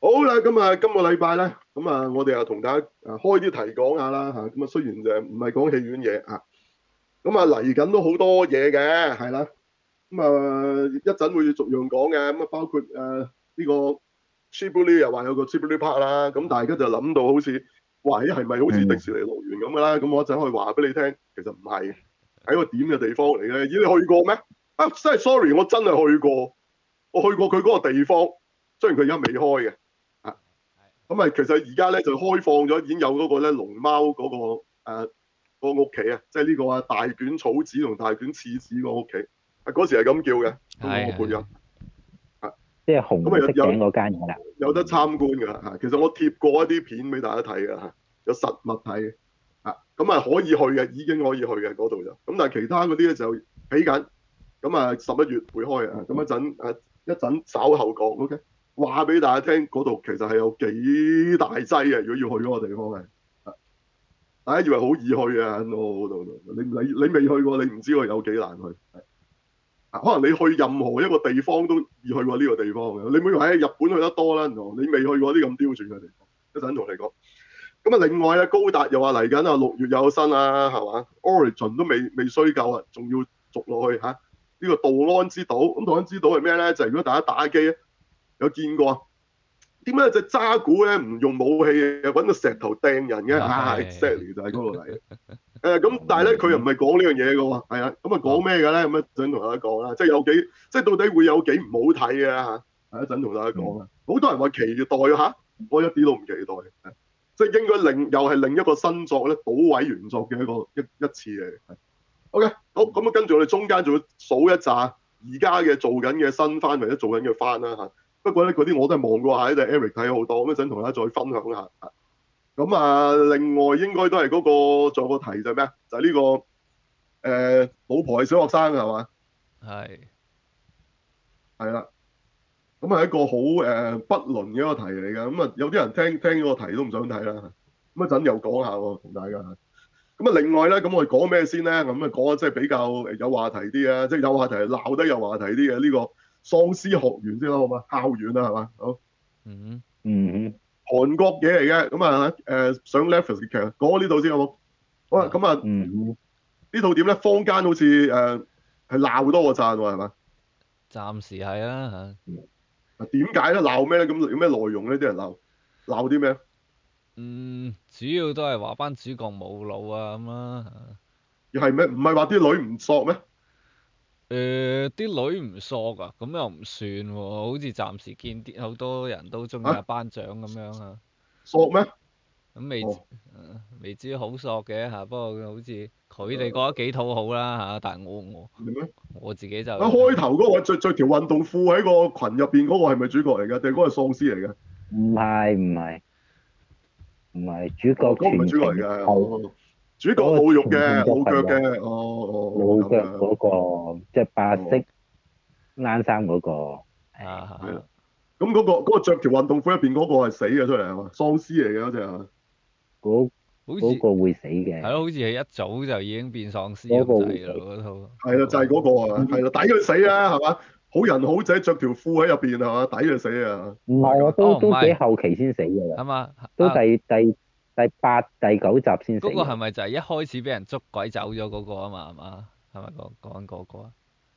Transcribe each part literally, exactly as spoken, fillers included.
好啦，咁啊，今個禮拜咧，咁啊，我哋又同大家啊開啲題講下啦嚇。咁啊，雖然就唔係講戲院嘢啊，咁啊嚟緊都好多嘢嘅，係啦。咁啊，一陣會逐樣講嘅。咁啊，包括誒呢個 Ghibli 又話有個 Ghibli Park 啦。咁大家就諗到好似，哇！咦，係咪好似迪士尼樂園咁嘅啦？咁我一陣可以話俾你聽，其實唔係，係一個點嘅地方嚟嘅。咦，你去過咩？啊，真係 sorry，我真係去過，我去過佢嗰個地方，雖然佢而家未開嘅。咁啊，其實而家咧就開放咗，已經有嗰個咧龍貓嗰、嗰個誒、呃嗰個屋企啊，即係呢個啊大卷草子同大卷刺子個屋企，啊嗰時係咁叫嘅，嗰、嗰個配音啊， 即係紅色頂嗰間嘢啦， 有有得參觀㗎嚇。其實我貼過一啲片俾大家睇㗎嚇，有實物睇嘅啊，咁啊可以去嘅，已經可以去嘅嗰度就，咁但係其他嗰啲咧就起緊，咁啊十一月會開啊，咁一陣誒一陣稍後講 ，OK。話俾大家聽，嗰度其實係有幾大劑啊！如果要去嗰個地方係，大家以為好易去啊，嗰度你你你未去過，你唔知佢有幾難去。啊，可能你去任何一個地方都易去過呢個地方嘅。你唔好以為喺日本去得多啦，你未去過啲咁刁鑽嘅地方。一陣同你講。咁啊，另外咧，高達又話嚟緊啊，六月有新啊，係嘛 ？Origin 都未未衰夠啊，仲要續落去嚇。呢、這個杜安之島，咁杜安之島係咩咧？就係、是、如果大家打機咧，有見過啊？點解隻渣古咧唔用武器嘅，揾個石頭掟人嘅？啊，exactly 就係嗰度嚟嘅。誒咁，但係咧佢又唔係講呢樣嘢嘅喎，係啊，咁啊講咩嘅咧？咁一陣同大家講啦，即係有幾，即係到底會有幾唔好睇嘅嚇？係一陣同大家講啊。好多人話期待嚇，我一啲都唔期待，即係應該另又係另一個新作咧，倒位原作嘅一個一一次嚟。OK，好，咁啊，跟住我哋中間仲要數一紮而家嘅做緊嘅新番或者做緊嘅番啦嚇。不過咧，嗰啲我都係望過下，就 Eric 睇好多，咁一陣同大家再分享下。咁啊，另外應該都係嗰、嗰個，仲有個題就係咩啊？就係、係、呢、呢個誒、呃，老婆係小學生係嘛？ 係係啦。咁係一個好誒、呃、不倫嘅一個題嚟嘅。咁啊，有啲人聽聽嗰個題都唔想睇啦。咁一陣又講下喎，同大家。咁啊，另外咧，咁我哋講咩先咧？咁啊，講即係比較有話題啲啊，即係有話題係鬧得有話題啲嘅呢個喪屍學園先啦，好嘛？校園啊，係嘛？好。 嗯嗯， 韓國嘢嚟嘅，咁啊誒上 Netflix 嘅劇，講呢度先好冇？好啦，咁啊， 嗯呢套點咧？坊間好似誒係鬧多過讚喎，係嘛？ 暫時係啊嚇。 啊點解咧？鬧咩咧？咁有咩內容咧？啲人鬧鬧啲咩？ 嗯，主要都係話班主角冇腦啊咁啦。 又係咩？唔係話啲女唔索咩？ 誒，啲女唔索啊，咁又唔算喎，好似暫時見啲好多人都中意阿啊班長咁樣啊。 索咩？ 咁未知哦， 誒未知好索嘅嚇，不過好似佢哋覺得幾討好啦嚇，但係我我係咩？ 我自己就啊開頭嗰個着着條運動褲喺個群入邊嗰個係咪主角嚟㗎？定係嗰個係喪屍嚟㗎？ 唔係唔係唔係，主哦， 角嗰個唔係主角嚟全程㗎。 係哦，主角嗰個冇肉嘅， 全程着冇腳裙嘅， 嘅。哦哦哦， 老咁樣。 腳嗰個，即係白哦， 色冷衫嗰個，係啊係啦。咁嗰、個嗰、個著條運動褲入邊嗰個係死嘅出嚟係嘛？喪屍嚟嘅嗰隻係嘛？ 嗰好似嗰個會死係咯， 嘅， 好似係一早就已經變喪屍嗰咁個會死。 滯咯，嗰套係啦，就係、 嗰個。 嗰個啊，係啦，抵佢死啊，係嘛？好人好仔着條褲喺入邊係嘛？抵佢死啊， 唔係啊， 係嘛？ 都都幾哦唔係後期先死㗎啦， 係嘛都啊？ 第第第八、第九集先死嗰個係㗎啦。 咪就係一開始俾人捉鬼走咗嗰個啊嘛？係嘛？係咪講講緊嗰個啊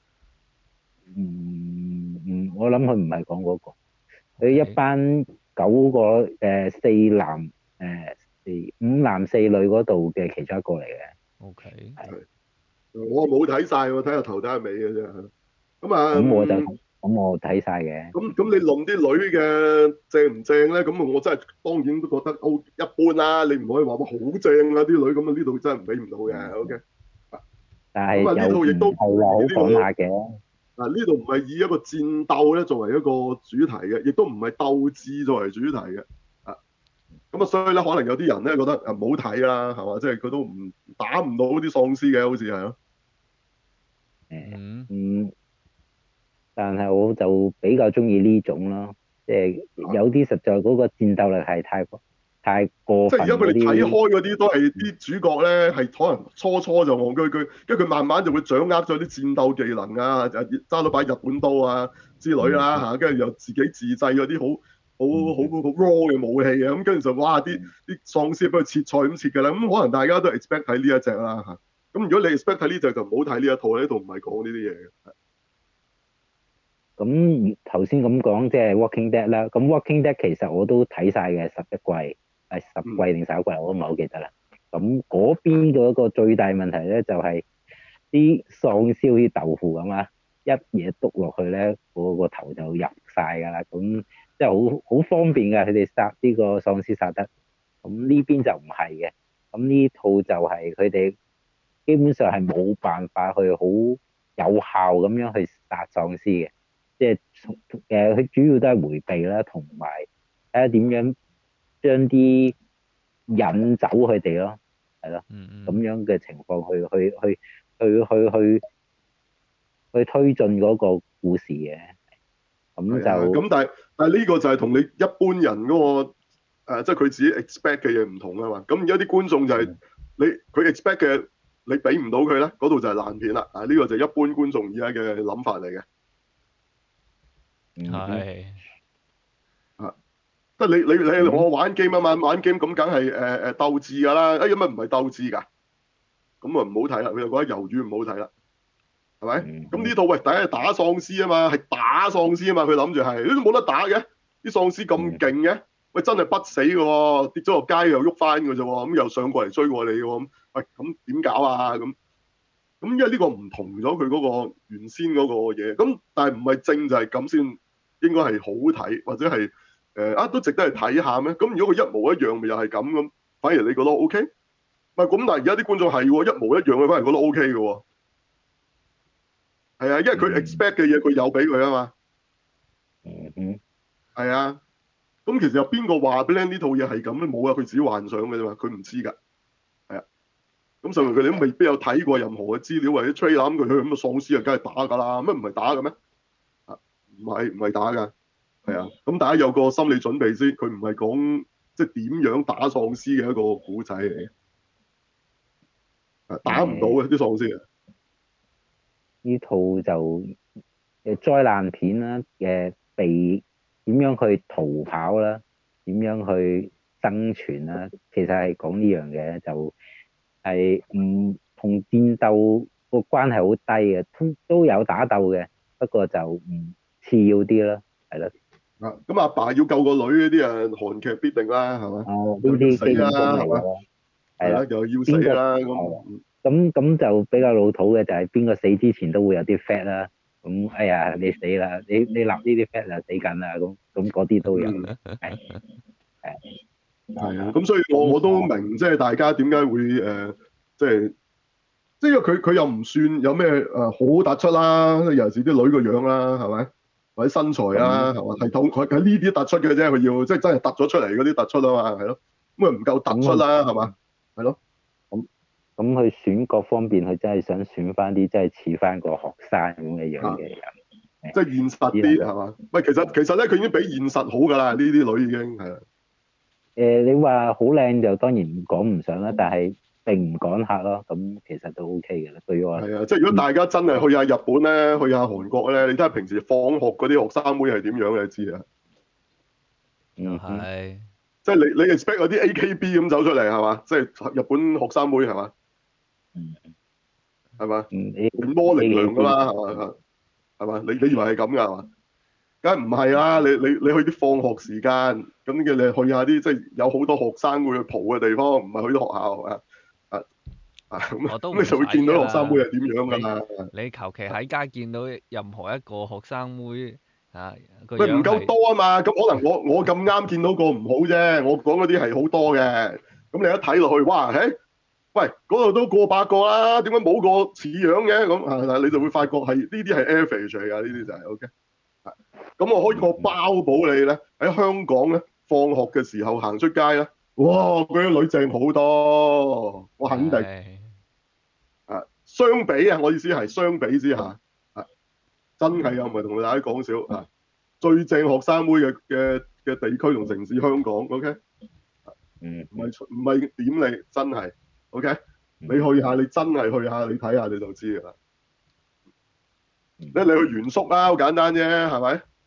嗯嗯，我諗佢唔係講嗰個。佢一 ？OK。 班九個誒四男誒四五男四女嗰度嘅其中一個嚟嘅， OK。 係我冇睇晒喎，睇下頭睇下尾嘅啫。咁啊， 咁我就嗯咁我睇晒嘅。 咁咁你論啲女嘅正唔正咧？咁我真係當然都覺得 O 一般啦。你唔可以話哇好正啊啲女咁啊，呢度真係俾唔到嘅。 嗯， OK。 但咁啊，呢係又唔套亦都唔係話好係呢個。 講下嘅。 嗱，呢度唔係以一個戰鬥咧作為一個主題嘅，亦都唔係鬥智作為主題嘅。啊，咁啊，所以咧可能有啲人咧覺得啊唔好睇啦，係嘛？即係佢都唔打唔到啲喪屍嘅，好似係咯。 誒嗯。 嗯，但係我就比較中意呢種咯，即係有啲實在嗰個戰鬥力係太過太過分即係而家佢哋睇開嗰啲。 嗰啲都係啲主角咧，係可能初初就戇居居，跟住佢慢慢就會掌握咗啲戰鬥技能啊，就揸到把日本刀啊之類啦嗯嚇，跟住又自己自製嗰啲好好好好 raw 嘅武器嘅，咁跟住就哇啲啲喪屍俾佢切菜咁切㗎啦，咁可能大家都 expect 睇呢一隻啦嚇。咁如果你 expect 睇呢隻就唔好睇呢一套，呢套唔係講呢啲嘢嘅。 咁頭先咁講即係 Walking Dead 啦，咁 Walking Dead 其實我都睇晒嘅十一季，係十季定十一季我都唔係好記得啦。咁嗰邊嗰個最大問題咧就係、啲喪屍好似豆腐咁啊，一嘢篤落去咧，嗰個頭就入晒㗎啦。咁即係好好方便㗎，佢哋殺呢個喪屍殺得。咁呢邊就唔係嘅。咁呢套就係佢哋基本上係冇辦法去好有效咁樣去殺喪屍嘅。即係誒，佢主要都係迴避啦，同埋睇下點樣將啲引走佢哋咯，係咯，咁嗯嗯。 樣嘅情況去去去去去去去推進嗰個故事嘅，咁係啊， 就咁但係但係呢個就係同你一般人嗰、個、呃、即係佢自己 expect 嘅嘢唔同啊嘛。咁而家啲觀眾就係、你佢 expect 嘅，你俾唔到佢咧，嗰度就係爛片啦。啊，呢、個就係一般觀眾而家嘅諗法嚟嘅。 嗯哼係。 啊，即係你你你嗯我玩 game 啊嘛，玩 game 咁梗係誒誒鬥智㗎啦。哎，咁啊唔係鬥智㗎，咁啊唔好睇啦。佢就覺得魷魚唔好睇啦。係咪？ 嗯咁呢套喂，大家係打喪屍啊嘛，係打喪屍啊嘛，佢諗住係，都冇得打嘅，啲喪屍咁勁嘅，喂真係不死嘅喎，跌咗落街又喐翻嘅啫喎，咁又上過嚟追過你嘅喎，咁喂咁點搞啊？咁咁因為呢個唔同咗佢嗰個原先嗰個嘢，咁但係唔係正就係咁先應該係好睇，或者係誒啊都值得去睇下咩？咁如果佢一模一樣，咪又係咁咁，反而你覺得 O K？唔係咁，但係而家啲觀眾係喎，一模一樣嘅，反而覺得 O K 嘅喎。係啊，因為佢 expect 嘅嘢佢有俾佢啊嘛。 嗯嗯係啊，咁其實有邊個話俾你呢套嘢係咁咧？冇啊，佢自己幻想嘅啫嘛，佢唔知㗎。係啊，咁所以佢哋都未必有睇過任何嘅資料或者 trailer，咁佢去咁嘅喪屍啊，梗係打㗎啦，乜唔係打嘅咩？啊，唔係唔係打㗎，係啊，咁大家有個心理準備先，佢唔係講即係點樣打喪屍嘅一個古仔嚟嘅，啊打唔到嘅啲喪屍啊。 呢套就誒災難片啦，嘅被點樣去逃跑啦，點樣去生存啦，其實係講呢樣嘅，就係唔同戰鬥個關係好低嘅，都都有打鬥嘅，不過就唔次要啲啦，係咯。 啊，咁阿爸要救個女嗰啲啊，韓劇必定啦，係嘛？ 哦，呢又要死啲基本功啦，係嘛？ 嚟㗎啦，係係啦， 啦。 又要死邊個啦， 係咁咁咁就比較老土嘅，就係邊個死之前都會有啲 fat 啦。咁哎呀，你死啦！你你立呢啲 fat 就死緊啦。咁咁嗰啲都有， 嗯。 係係係啊，咁所以我咁我都明，即係大家點解會誒、呃，即係即係因為佢佢又唔算有咩誒、呃、好突出啦，尤其是啲女個樣啦，係咪？或者身材啦， 咁係嘛？係透佢喺呢啲突出嘅啫，佢要即係真係突咗出嚟嗰啲突出啊嘛，係咯。咁啊唔夠突出咁啦，係嘛？係咯， 咁咁佢選角方面，佢真係想選翻啲真係似翻個學生咁嘅樣啊， 嘅人， 即係現實只能夠啲係嘛？喂，其實其實咧，佢已經比現實好㗎啦，呢啲女已經係啊。 誒你話好靚就當然講唔上啦，但係並唔趕客咯。咁其實都 OK 嘅啦，對於我係啊，即係如果大家真係去下日本咧，去下韓國咧，你睇下平時放學嗰啲學生妹係點樣，你就知啊。 又嗯嗯係。 即係你你 expect 嗰啲 A K B 咁走出嚟係嘛？即係日本學生妹係嘛？ 嗯係嘛？ 嗯，你係模棱兩㗎你嘛係嘛？係嘛？你你以為係咁㗎係嘛？梗係唔係啦！你你你去啲放學時間咁嘅，你去下啲即係有好多學生會去蒲嘅地方，唔係去啲學校啊啊啊咁咁你就我都唔使會見到學生妹㗎啦。 係點樣㗎你啦。 你求其喺街見到任何一個學生妹啊，個喂，唔夠樣係多啊嘛，咁可能我我咁啱見到個唔好啫，我講嗰啲係好多嘅，咁你一睇落去，哇，嘿，喂，嗰度都過百個啦，點解冇個似樣嘅？咁啊，你就會發覺係呢啲係 average 嚟㗎，呢啲就係 OK。咁我可以我包保你咧，喺香港咧，放學嘅時候行出街咧，哇，嗰啲女正好多，我肯定係啊。相比啊，我意思係相比之下啊，真係啊，唔係同大家講笑啊。最正學生妹嘅嘅嘅地區同城市香港，OK， 嗯唔係唔係點你真係，OK，你嗯去下你真係去下，你睇下你就知㗎啦。 嗯你你去原宿啦，好簡單啫，係咪？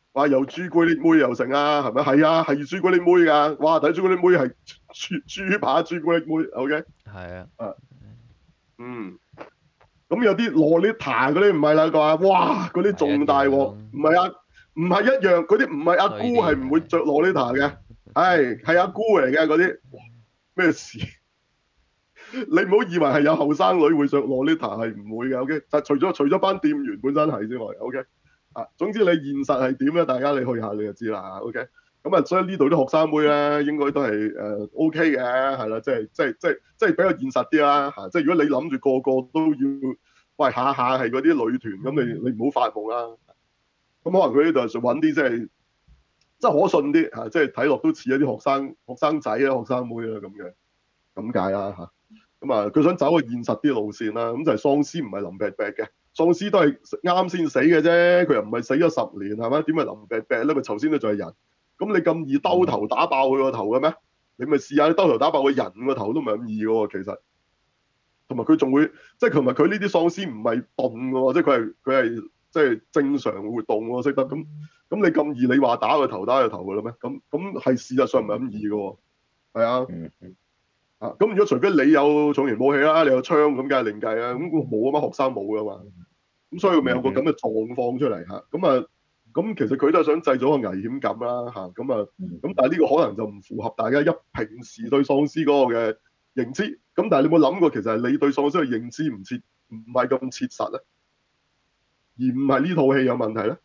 哇又朱古力妹又成啊，係咪？係啊，係朱古力妹㗎。哇，睇朱古力妹係豬豬扒朱古力妹，OK？ 係啊， 啊，嗯。咁有啲洛麗塔嗰啲唔係啦，啩，哇，嗰啲仲大鑊，唔係啊，唔係一樣，嗰啲唔係阿姑係唔會着洛麗塔嘅，係係阿姑嚟嘅嗰啲，咩事？你唔好以為係有後生女會着洛麗塔，係唔會嘅，OK？就除咗除咗班店員本身係之外，OK？啊，總之你現實係點咧？大家你去下你就知啦，OK？咁啊，所以呢度啲學生妹咧，應該都係誒 OK 嘅，係啦，即係即係即係即係比較現實啲啦嚇。即係如果你諗住個個都要，喂下下係嗰啲女團，咁你你唔好發夢啦。咁可能佢呢度就揾啲即係即係可信啲嚇，即係睇落都似一啲學生學生仔啊、學生妹啊咁樣咁解啦嚇。咁啊，佢想走個現實啲路線啦。咁就係喪屍唔係腍啤啤嘅，喪屍都係啱先死嘅啫。佢又唔係死咗十年係咪？點係腍啤啤咧？佢頭先都仲係人。咁你咁易兜頭打爆佢個頭嘅咩？你咪試下你兜頭打爆個人個頭都唔係咁易嘅喎，其實。同埋佢仲會，即係同埋佢呢啲喪屍唔係鈍嘅喎，即係佢係佢係即係正常活動喎，識得咁。咁你咁易你話打個頭打個頭嘅啦咩？咁咁係事實上唔係咁易嘅喎，係啊。 嗯嗯啊，咁如果除非你有重型武器啦，你有槍咁，梗係另計啦。咁冇啊嘛，學生冇噶嘛，咁所以咪有個咁嘅狀況出嚟嚇。咁啊，咁其實佢都係想製造個危險感啦嚇。咁啊，咁但係呢個可能就唔符合大家一平時對喪屍嗰個嘅認知。咁但係你有冇諗過，其實係你對喪屍嘅認知唔切，唔係咁切實咧，而唔係呢套戲有問題咧？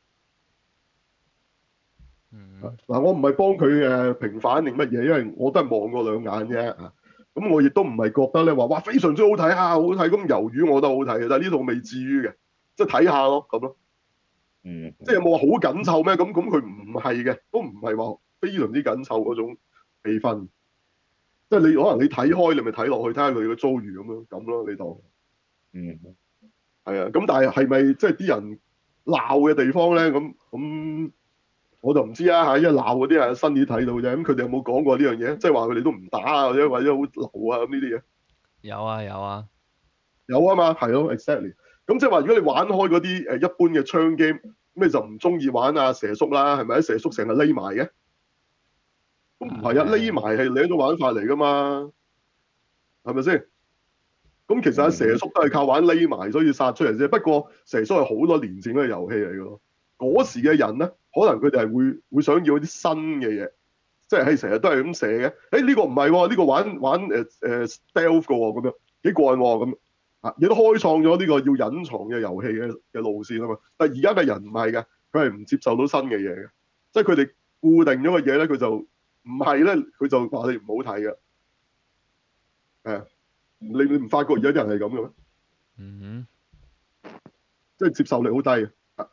嗯， 嗱，我唔係幫佢誒平反定乜嘢，因為我都係望過兩眼啫。咁我亦都唔係覺得咧話哇非常之好睇啊，好睇咁魷魚，我覺得好睇嘅，但係呢套未至於嘅，即係睇下咯咁咯。 嗯， 即係有冇話好緊湊咩？咁咁佢唔係嘅，都唔係話非常之緊湊嗰種氣氛。即係你可能你睇開，你咪睇落去睇下佢嘅遭遇咁樣咁咯，你當嗯， 係啊。咁但係係咪即係啲人鬧嘅地方咧？咁咁我就唔知啊嚇，因為鬧嗰啲係新啲睇到啫。咁佢哋有冇講過呢樣嘢？即係話佢哋都唔打啊，或者或者好流啊咁呢啲嘢。 有啊有啊， 有啊嘛，係咯，exactly。咁即係話，如果你玩開嗰啲誒一般嘅槍 game，咁你就唔中意玩啊蛇叔啦，係咪？蛇叔成日匿埋嘅，咁唔係啊，匿埋係另一種玩法嚟噶嘛，係咪先？咁其實阿蛇叔都係靠玩匿埋所以殺出嚟啫。不過蛇叔係好多年前嗰個遊戲嚟嘅咯。嗰時嘅人咧，可能佢哋係會會想要啲新嘅嘢，即係係成日都係咁射嘅。誒呢個唔係喎，呢個玩玩誒誒 stealth 嘅喎，咁樣幾過癮喎咁。啊！亦都開創咗呢個要隱藏嘅遊戲嘅嘅路線啊嘛。但係而家嘅人唔係嘅，佢係唔接受到新嘅嘢嘅，即係佢哋固定咗嘅嘢咧，佢就唔係咧，佢就話你唔好睇嘅。係啊，你你唔發覺而家啲人係咁嘅咩？ 嗯即係接受力好低嘅。啊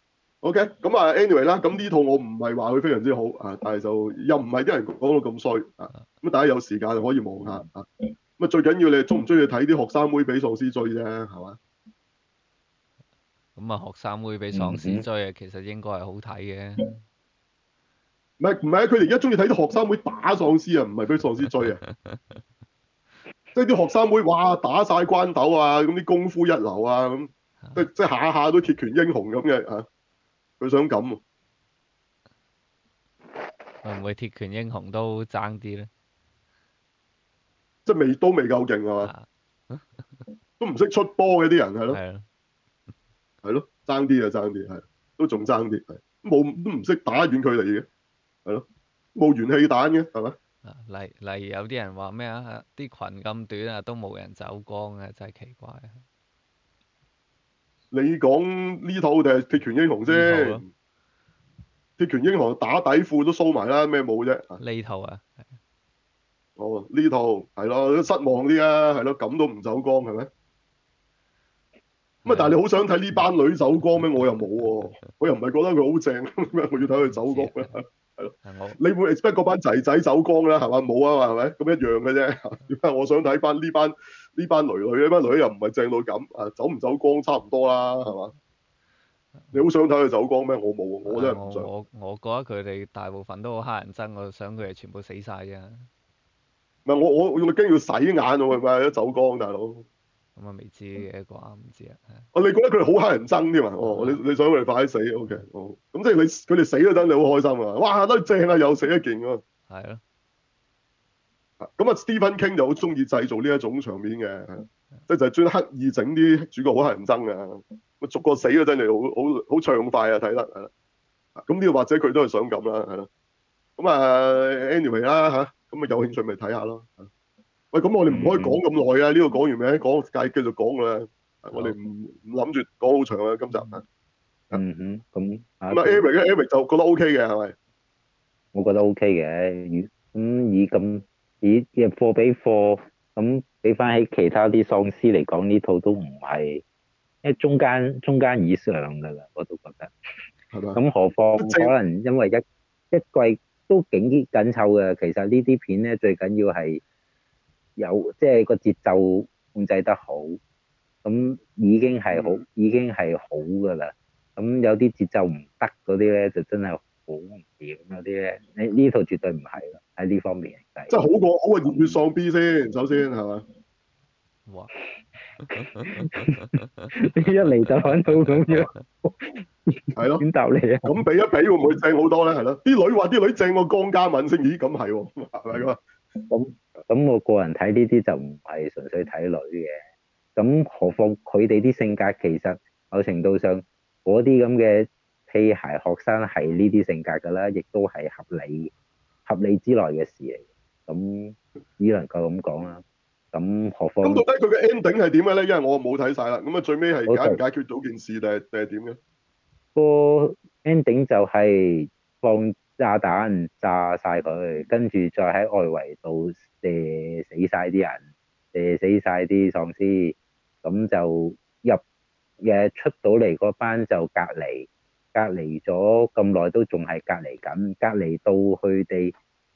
OK，咁啊，anyway 啦，咁呢套我唔係話佢非常之好啊，但係就又唔係啲人講到咁衰啊。咁大家有時間可以望下啊。咁啊，最緊要你中唔中意睇啲學生妹俾喪屍追啫，係嘛？ 哼，咁啊學生妹俾喪屍追啊，其實應該係好睇嘅。 唔係唔係啊！佢哋而家中意睇啲學生妹打喪屍啊，唔係俾喪屍追啊！即係啲學生妹哇打晒關鬥啊，咁啲功夫一流啊，咁即即係下下都鐵拳英雄咁嘅嚇，佢想咁喎。 會唔會鐵拳英雄都爭啲咧？ 即係未都未夠勁係嘛？ 啊， 都唔識出波嘅啲人係咯， 係咯， 係咯，爭啲啊爭啲係，都仲爭啲係，冇都唔識打遠距離嘅，係咯，冇元氣彈嘅係嘛？ 啊例例如有啲人話咩啊？啲裙咁短啊，都冇人走光啊，真係奇怪啊！ 你講呢套定係鐵拳英雄先？ 呢套咯， 鐵拳英雄打底褲都 show 埋啦，咩冇啫？ 呢套啊， 哦，呢套係咯，失望啲啊，係咯，咁都唔走光係咪？咁啊，但係你好想睇呢班女走光咩？我又冇喎，我又唔係覺得佢好正，咩我要睇佢走光咧？係咯， 係我你會 expect 嗰班仔仔走光啦，係嘛？冇啊嘛，係咪？咁一樣嘅啫。點解我想睇翻呢班呢班女女，呢班女又唔係正到咁啊？走唔走光差唔多啦，係嘛？你好想睇佢走光咩？我冇，我真係唔想。 我我我覺得佢哋大部分都好乞人憎，我想佢哋全部死晒啫。 唔係我我我驚要洗眼喎，係咪？一走光大佬。 咁啊未知嘅啩，唔知啊，係哦，你覺得佢哋好乞人憎添啊？哦，你你想佢哋快啲死？O K，哦，咁即係你佢哋死嗰陣，你好開心啊！哇，都正啊，又死一件喎。 係咯， 咁啊，Stephen King 就好中意製造呢一種場面嘅，即係就係專刻意整啲主角好乞人憎啊，咁逐個死嗰陣就好好好暢快啊，睇得係啦。咁呢個或者佢都係想咁啦，係咯。咁啊，anyway 啦嚇，咁啊有興趣咪睇下咯。喂，咁我哋唔可以講咁耐啊！呢個講完未？講繼繼續講㗎啦。我哋唔唔諗住講好長啊，今集啊。 嗯哼，咁啊咁啊，Eric 咧，Eric 就覺得 OK 嘅係咪？ 我覺得 OK 嘅，以咁以咁以嘅貨比貨，咁比翻起其他啲喪屍嚟講，呢套都唔係，因為中間中間以上㗎啦，我都覺得。 係嘛？ 咁何況正可能因為一一季都幾緊湊嘅，其實呢啲片咧最緊要係有即係個節奏控制得好，咁已經係好嗯已經係好㗎啦。咁有啲節奏唔得嗰啲咧，就真係好唔掂嗰啲咧。呢呢套絕對唔係啦，喺呢方面嚟計。 即係好過好過熱血喪 B 先，首先係嘛？ 哇， 你一嚟就喺度咁樣， 係咯。 點答你啊？ 咁比一比會唔會正好多咧？係咯。啲女話啲女正過江嘉敏先，咦？咁係喎，係咪咁啊？ 咁咁我個人睇呢啲就唔係純粹睇女嘅。咁何況佢哋啲性格其實某程度上嗰啲咁嘅屁孩學生係呢啲性格㗎啦，亦都係合理合理之內嘅事嚟。咁只能夠咁講啦。咁何況咁到底佢嘅 ending 係點嘅咧？因為我冇睇晒啦。咁啊，最尾係解唔好解決到件事定係定係點嘅？ 個 ending 就係放炸彈炸晒佢，跟住再喺外圍度射死晒啲人，射死晒啲喪屍，咁就入嘅出到嚟嗰班就隔離，隔離咗咁耐都仲係隔離緊，隔離到佢哋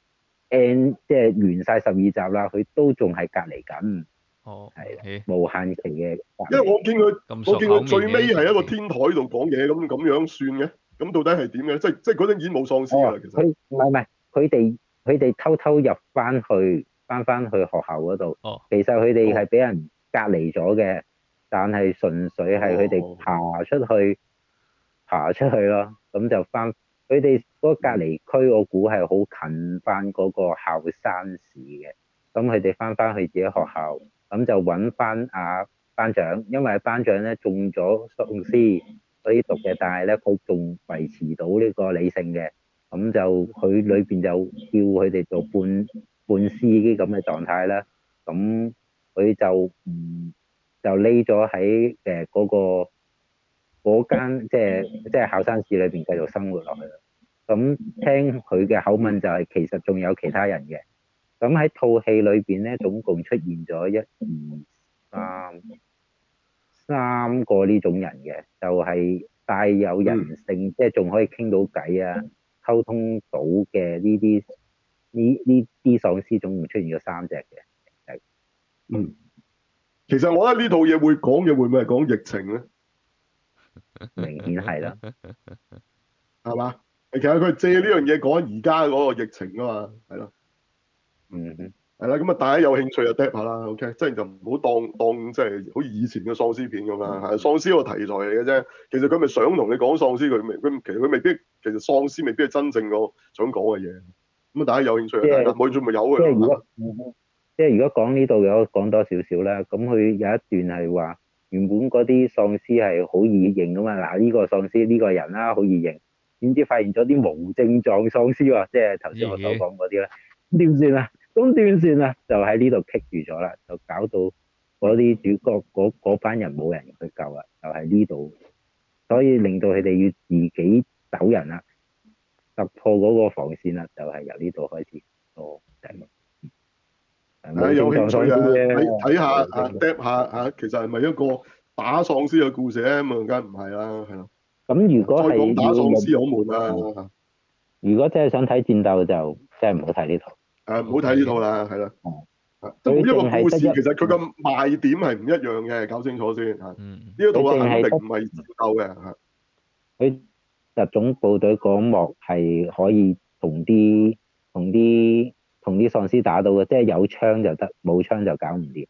end 即係完晒十二集啦，佢都仲係隔離緊， 哦， 係啦， 咦， 無限期嘅隔因為我離。 見佢， 咁我熟口面見佢最尾係一個嘅啲情節， 天台度講嘢，咁咁樣算嘅。咁到底係點嘅？即係即係嗰陣已經冇喪屍㗎啦， 哦， 其實。 佢唔係唔係，佢哋佢哋偷偷入翻去，翻翻去學校嗰度。 哦， 其實佢哋係哦俾人隔離咗嘅，但係純粹係佢哋哦爬出去，爬出去咯。咁就翻佢哋嗰個隔離區，我估係好近翻嗰個校山市嘅。咁佢哋翻翻去自己學校，咁就揾翻阿班長，因為班長咧中咗喪屍。嗰啲毒嘅，但係咧佢仲維持到呢個理性嘅，咁就佢裏邊就叫佢哋做半半屍啲咁嘅狀態啦。咁佢就唔就匿咗喺誒嗰個嗰間即係即係考生市裏邊繼續生活落去啦。咁聽佢嘅口吻就係其實仲有其他人嘅。咁喺套戲裏邊咧，總共出現咗一二三三個呢種人嘅，就係帶有人性，即係仲可以傾到偈啊，溝通到嘅呢啲呢呢啲喪屍總共出現咗三隻嘅，係嗯，其實我覺得呢套嘢會講嘅會唔會係講疫情咧？ 明顯係啦。 係嘛？其實佢係借呢樣嘢講而家嗰個疫情啊嘛，係咯。 嗯哼， 係啦，咁啊，大家有興趣就 drop 下啦，OK，即係就唔好當當即係好似以前嘅喪屍片咁啦，係喪屍個題材嚟嘅啫。其實佢咪想同你講喪屍，佢未佢其實佢未必，其實喪屍未必係真正個想講嘅嘢。咁啊，大家有興趣就睇啦， 即係冇興趣咪由佢即係如咯。 果即係如果講呢度嘅，我講多少少啦。咁佢有一段係話原本嗰啲喪屍係好易認噶嘛，嗱呢個喪屍呢個人啦好易認，點知發現咗啲無症狀喪屍喎，即係頭先我所咦， 講嗰啲啦，點算啊？咁點算啊？就喺呢度棘住咗啦，就搞到嗰啲主角嗰嗰班人冇人去救啦，就喺呢度，所以令到佢哋要自己走人啦，突破嗰個防線啦，就係由呢度開始。哦，就係咁。誒誒， 無症狀喪屍有興趣啊，睇睇下咧， 啊 drop 下啊，其實係咪一個打喪屍嘅故事咧？咁啊，梗係唔係啦，係咯。 咁如果再講打係要用， 喪屍好悶啊！ 如果真係想睇戰鬥就真係唔好睇呢套。 誒，唔好睇呢套啦，係啦。 哦， 即係每佢一個故事， 淨係得一， 其實佢嘅賣點係唔一樣嘅，搞清楚先嚇。呢嗯， 一套啊， 佢淨係得肯定唔係戰鬥嘅嚇。 佢特種部隊嗰幕係可以同啲同啲同啲喪屍打到嘅，即係有槍就得，冇槍就搞唔掂。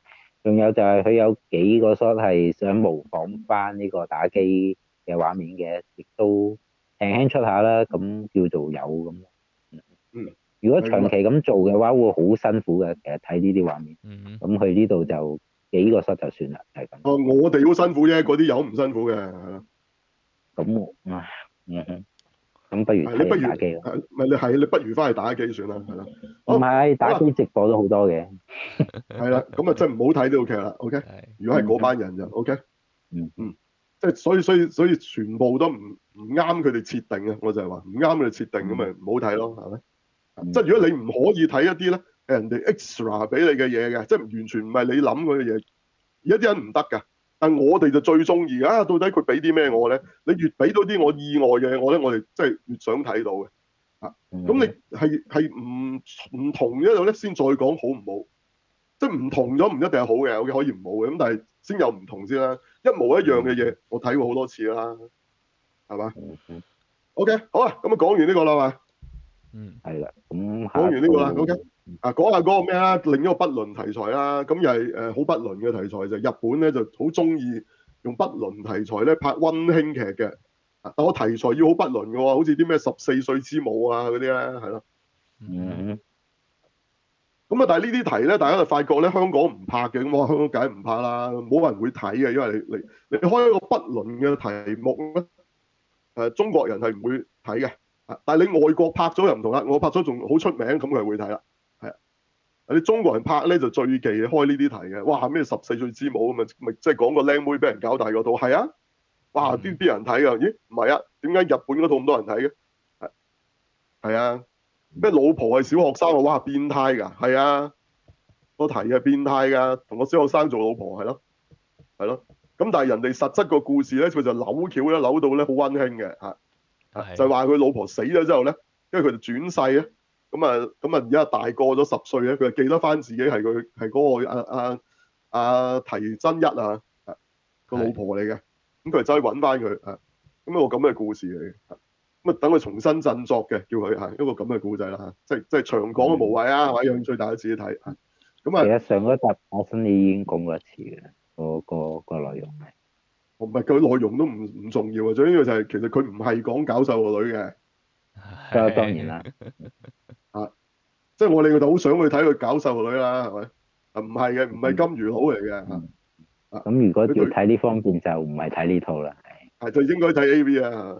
仲有就係佢有幾個 shot 係想模仿翻呢個打機嘅畫面嘅，亦都輕輕出下啦，咁叫做有咁。 嗯， 如果長期咁做嘅話，會好辛苦嘅。其實睇呢啲畫面， 嗯咁佢呢度就幾個 shot 就算啦，係咁。 哦，我哋好辛苦啫，嗰啲友唔辛苦嘅，係啦。 咁我唉，嗯哼，咁不如睇係你不如人打機咯。 係咪你係你不如翻去打機算啦，係啦。 唔好， 係打好啦， 機直播都好多嘅。 係啦，咁啊真係唔好睇呢套劇啦，OK。 係如果係嗰班人就 OK。 嗯嗯，即係所以所以所以全部都唔唔啱佢哋設定啊，我就係話唔啱佢哋設定咁咪唔好睇咯，係咪？ 嗯即係如果你唔可以睇一啲咧，人哋 extra 俾你嘅嘢嘅，即係完全唔係你諗嗰嘅嘢，而家啲人唔得㗎。但係我哋就最中意啊！到底佢俾啲咩我咧？你越俾到啲我意外嘅我咧，我哋真係越想睇到嘅。啊， 嗯咁你係係唔唔同一樣咧，先再講好唔好？即係唔同咗唔一定係好嘅，OK 可以唔好嘅，咁但係先有唔同先啦。一模一樣嘅嘢，我睇過好多次啦，係嘛嗯嗯， ？OK，好啦，咁啊講完呢個啦嘛， 嗯係啦。咁講下一完呢個啦套 ，OK。啊，講下嗰個咩啦，另一個不倫題材啦，咁又係誒好不倫嘅題材就日本咧就好中意用不倫題材咧拍溫馨劇嘅，啊但我題材要好不倫嘅喎，好似啲咩十四歲之母啊嗰啲咧，係咯。 嗯嗯咁啊，但係呢啲題咧，大家就發覺咧香港唔拍嘅，咁我香港梗係唔拍啦，冇人會睇嘅，因為你你你開一個不倫嘅題目咧，誒中國人係唔會睇嘅，啊但係你外國拍咗又唔同啦，我拍咗仲好出名，咁佢係會睇啦。你中國人拍咧就最忌開呢啲題嘅，哇咩十四歲之母咁啊，咪即係講個靚妹俾人搞大嗰套，係啊，哇邊邊人睇啊？咦唔係啊？點解日本嗰套咁多人睇嘅？係係啊，咩老婆係小學生啊？哇變態㗎，係啊，個題係變態㗎，同個小學生做老婆係咯，係咯，咁但係人哋實質個故事咧，佢就扭橋咧，扭到咧好溫馨嘅嚇， 係就係話佢老婆死咗之後咧，跟住佢就轉世咧。咁啊，咁啊，而家大個咗十歲咧，佢就記得翻自己係佢係嗰個阿阿阿提真一啊，個老婆嚟嘅。咁佢就走去揾翻佢啊，咁一個咁嘅故事嚟嘅。咁啊，等佢重新振作嘅，叫佢係一個咁嘅故仔啦嚇，即係即係長講都無謂啊，係咪？有興趣大家自己睇啊。咁其啊， 實上嗰集我新你已經講過一次嘅啦，個個個內容係。 唔係佢內容都唔唔重要啊，最緊要就係其實佢唔係講搞瘦個女嘅當當然啦。 啊，即係我哋就好想去睇佢搞瘦個女啦，係咪？啊，唔係嘅，唔係金魚佬嚟嘅嚇。 嗯咁如果要佢對睇呢方面就唔係睇呢套啦， 係就應該睇 A V 啊。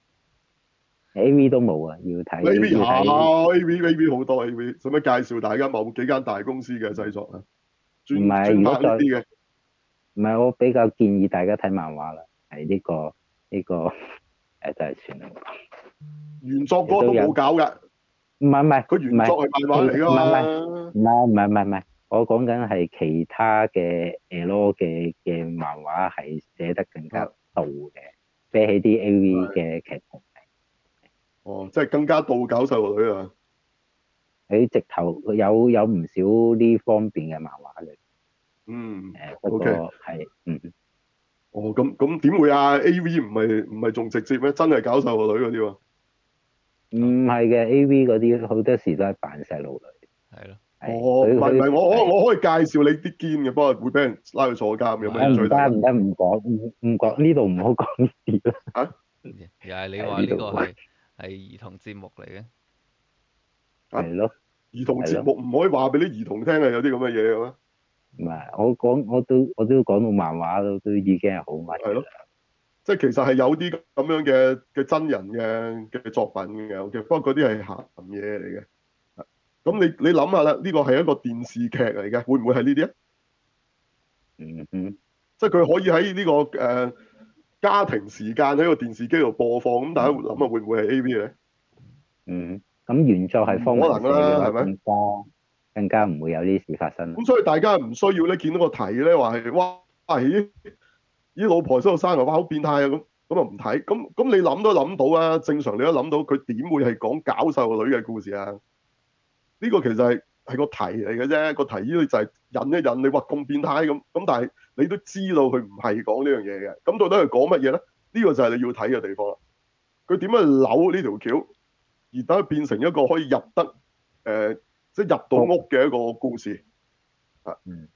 A V 都冇啊，要睇 A V 有要睇。 A V A V 好多 A V，使乜介紹大家某幾間大公司嘅製作啊？專唔係專如果再拍呢啲嘅， 唔係我比較建議大家睇漫畫啦，係呢個呢個誒就係算啦。 原作嗰個都冇搞㗎， 唔係唔係佢原作係漫畫嚟㗎唔係嘛。 唔係唔係唔係唔係，我講緊係其他嘅 L 嘅嘅漫畫係寫得更加到嘅，比起啲 A V 嘅劇情。 哦，即係更加到搞細路女啊！ 佢直頭有有唔少呢方面嘅漫畫嘅。 嗯誒不過 ，OK。 係嗯哦，咁咁點會啊？A V 唔係唔係仲直接咩？真係搞細路女嗰啲喎。 唔係嘅 A V 嗰啲好多時都係扮細路女。 係咯。 哦， 係唔係唔係，我我係我可以介紹你啲堅嘅，不過會俾人拉去坐監，有冇興趣唔大家？ 得唔得唔講唔唔講呢度唔好講呢啲啦。 啊又係你話呢個係係兒童節目嚟嘅。 啊！ 係咯兒童節係咯， 目唔可以話俾啲兒童聽啊，有啲咁嘅嘢嘅咩？ 唔係我講我都我都講到漫畫都都已經係好密係咯，即係其實係有啲咁樣嘅嘅真人嘅嘅作品嘅，OK，不過嗰啲係鹹嘢嚟嘅。咁你你諗下啦，呢個係一個電視劇嚟嘅，會唔會係呢啲啊？ 嗯嗯即係佢可以喺呢、個誒、呃、家庭時間喺個電視機度播放，咁大家會諗下會唔會係 A V 咧？ 嗯，咁原作係方文社唔可能啦， 嘅話， 係咪？ 更加更加唔會有呢啲事發生啦。 咁所以大家唔需要咧見到個題咧話係哇咦咦老婆喺度生啊，哇好變態啊咁，咁啊唔睇。咁咁你諗都諗到啊，正常你都諗到佢點會係講搞細個女嘅故事啊？呢個其實係係個題嚟嘅啫，個題呢就係引一引你，哇咁變態咁，咁但係你都知道佢唔係講呢樣嘢嘅，咁到底係講乜嘢咧？呢個就係你要睇嘅地方啦。佢點樣扭呢條橋，而等佢變成一個可以入得誒，即係入到屋嘅一個故事啊。 嗯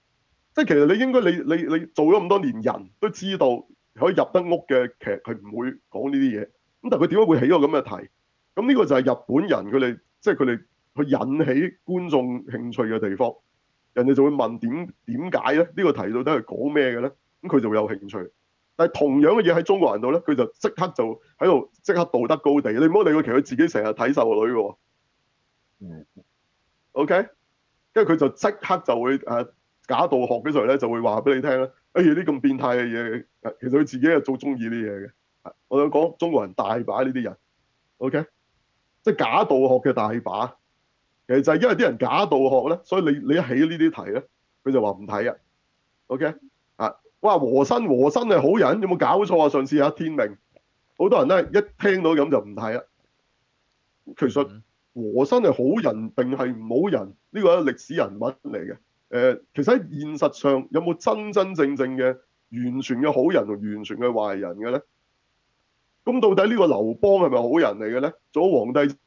即係其實你應該你你你做咗咁多年人都知道可以入得屋嘅劇係唔會講呢啲嘢，咁但係佢點解會起個咁嘅題？咁呢個就係日本人佢哋即係佢哋去引起觀眾興趣嘅地方，人哋就會問點點解咧？呢、呢個題到底係講咩嘅咧？咁佢就會有興趣。但係同樣嘅嘢喺中國人度咧，佢就即刻就喺度即刻道德高地。你唔好理佢，其實佢自己成日睇細路女嘅喎。 嗯。 OK，跟住佢就即刻就會誒、呃、假道學嘅時候咧，就會話俾你聽咧。哎呀，啲咁變態嘅嘢，其實佢自己係做中意啲嘢嘅。我想講中國人大把呢啲人。OK，即係假道學嘅大把。其實就係因為啲人假道學咧，所以你你一起呢啲題咧，佢就話唔睇啊。OK 啊，哇和珅和珅係好人，有冇搞錯啊？上次啊天明，好多人咧一聽到咁就唔睇啦。其實和珅係好人定係唔好人？呢個係歷史人物嚟嘅。誒、呃，其實喺現實上有冇真真正正嘅完全嘅好人同完全嘅壞人嘅咧？咁到底呢個劉邦係咪好人嚟嘅咧？做咗皇帝，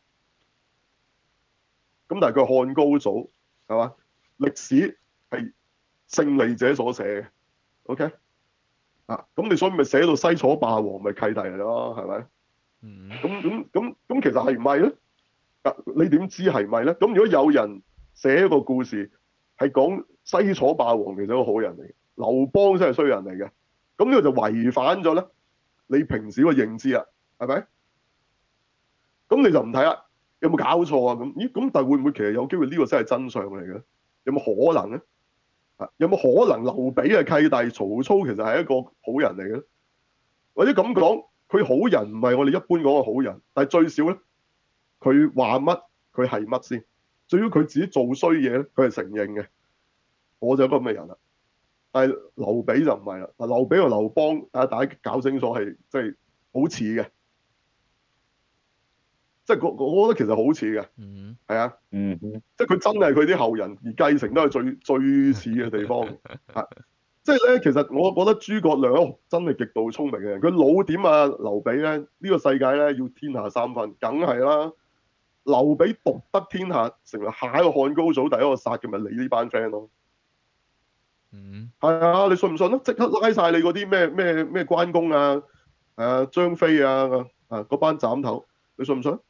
咁但係佢係漢高祖，係嘛？歷史係勝利者所寫嘅。OK 啊，咁你所以咪寫到西楚霸王咪契弟嚟咯，係咪？ 嗯。 咁咁咁咁，其實係唔係咧？啊，你點知係唔係咧？咁如果有人寫一個故事係講西楚霸王其實係一個好人嚟嘅，劉邦先係衰人嚟嘅，咁呢個就違反咗咧你平時個認知啦，係咪？咁你就唔睇啦，有冇搞錯啊？咁咦咁，但係會唔會其實有機會呢個先係真相嚟嘅？有冇可能咧？啊，有冇可能劉備嘅契弟曹操其實係一個好人嚟嘅咧？或者咁講，佢好人唔係我哋一般講嘅好人，但係最少咧，佢話乜佢係乜先。至於佢自己做衰嘢咧，佢係承認嘅。我就係一個咁嘅人啦。但係劉備就唔係啦。嗱，劉備同劉邦啊，大家搞清楚係即係好似嘅，即係我我覺得其實好似嘅， 嗯。 係啊， 嗯。 即係佢真係佢啲後人而繼承都係最最似嘅地方啊。即係咧，其實我覺得諸葛亮哦真係極度聰明嘅人。佢老點啊，劉備咧呢、呢個世界咧要天下三分，梗係啦。劉備獨得天下，成為下一個漢高祖第一個殺嘅咪你呢班 friend 咯。 嗯。 係啊，你信唔信啊？即刻拉晒你嗰啲咩咩咩關公啊、誒張飛啊啊嗰班斬頭，你信唔信？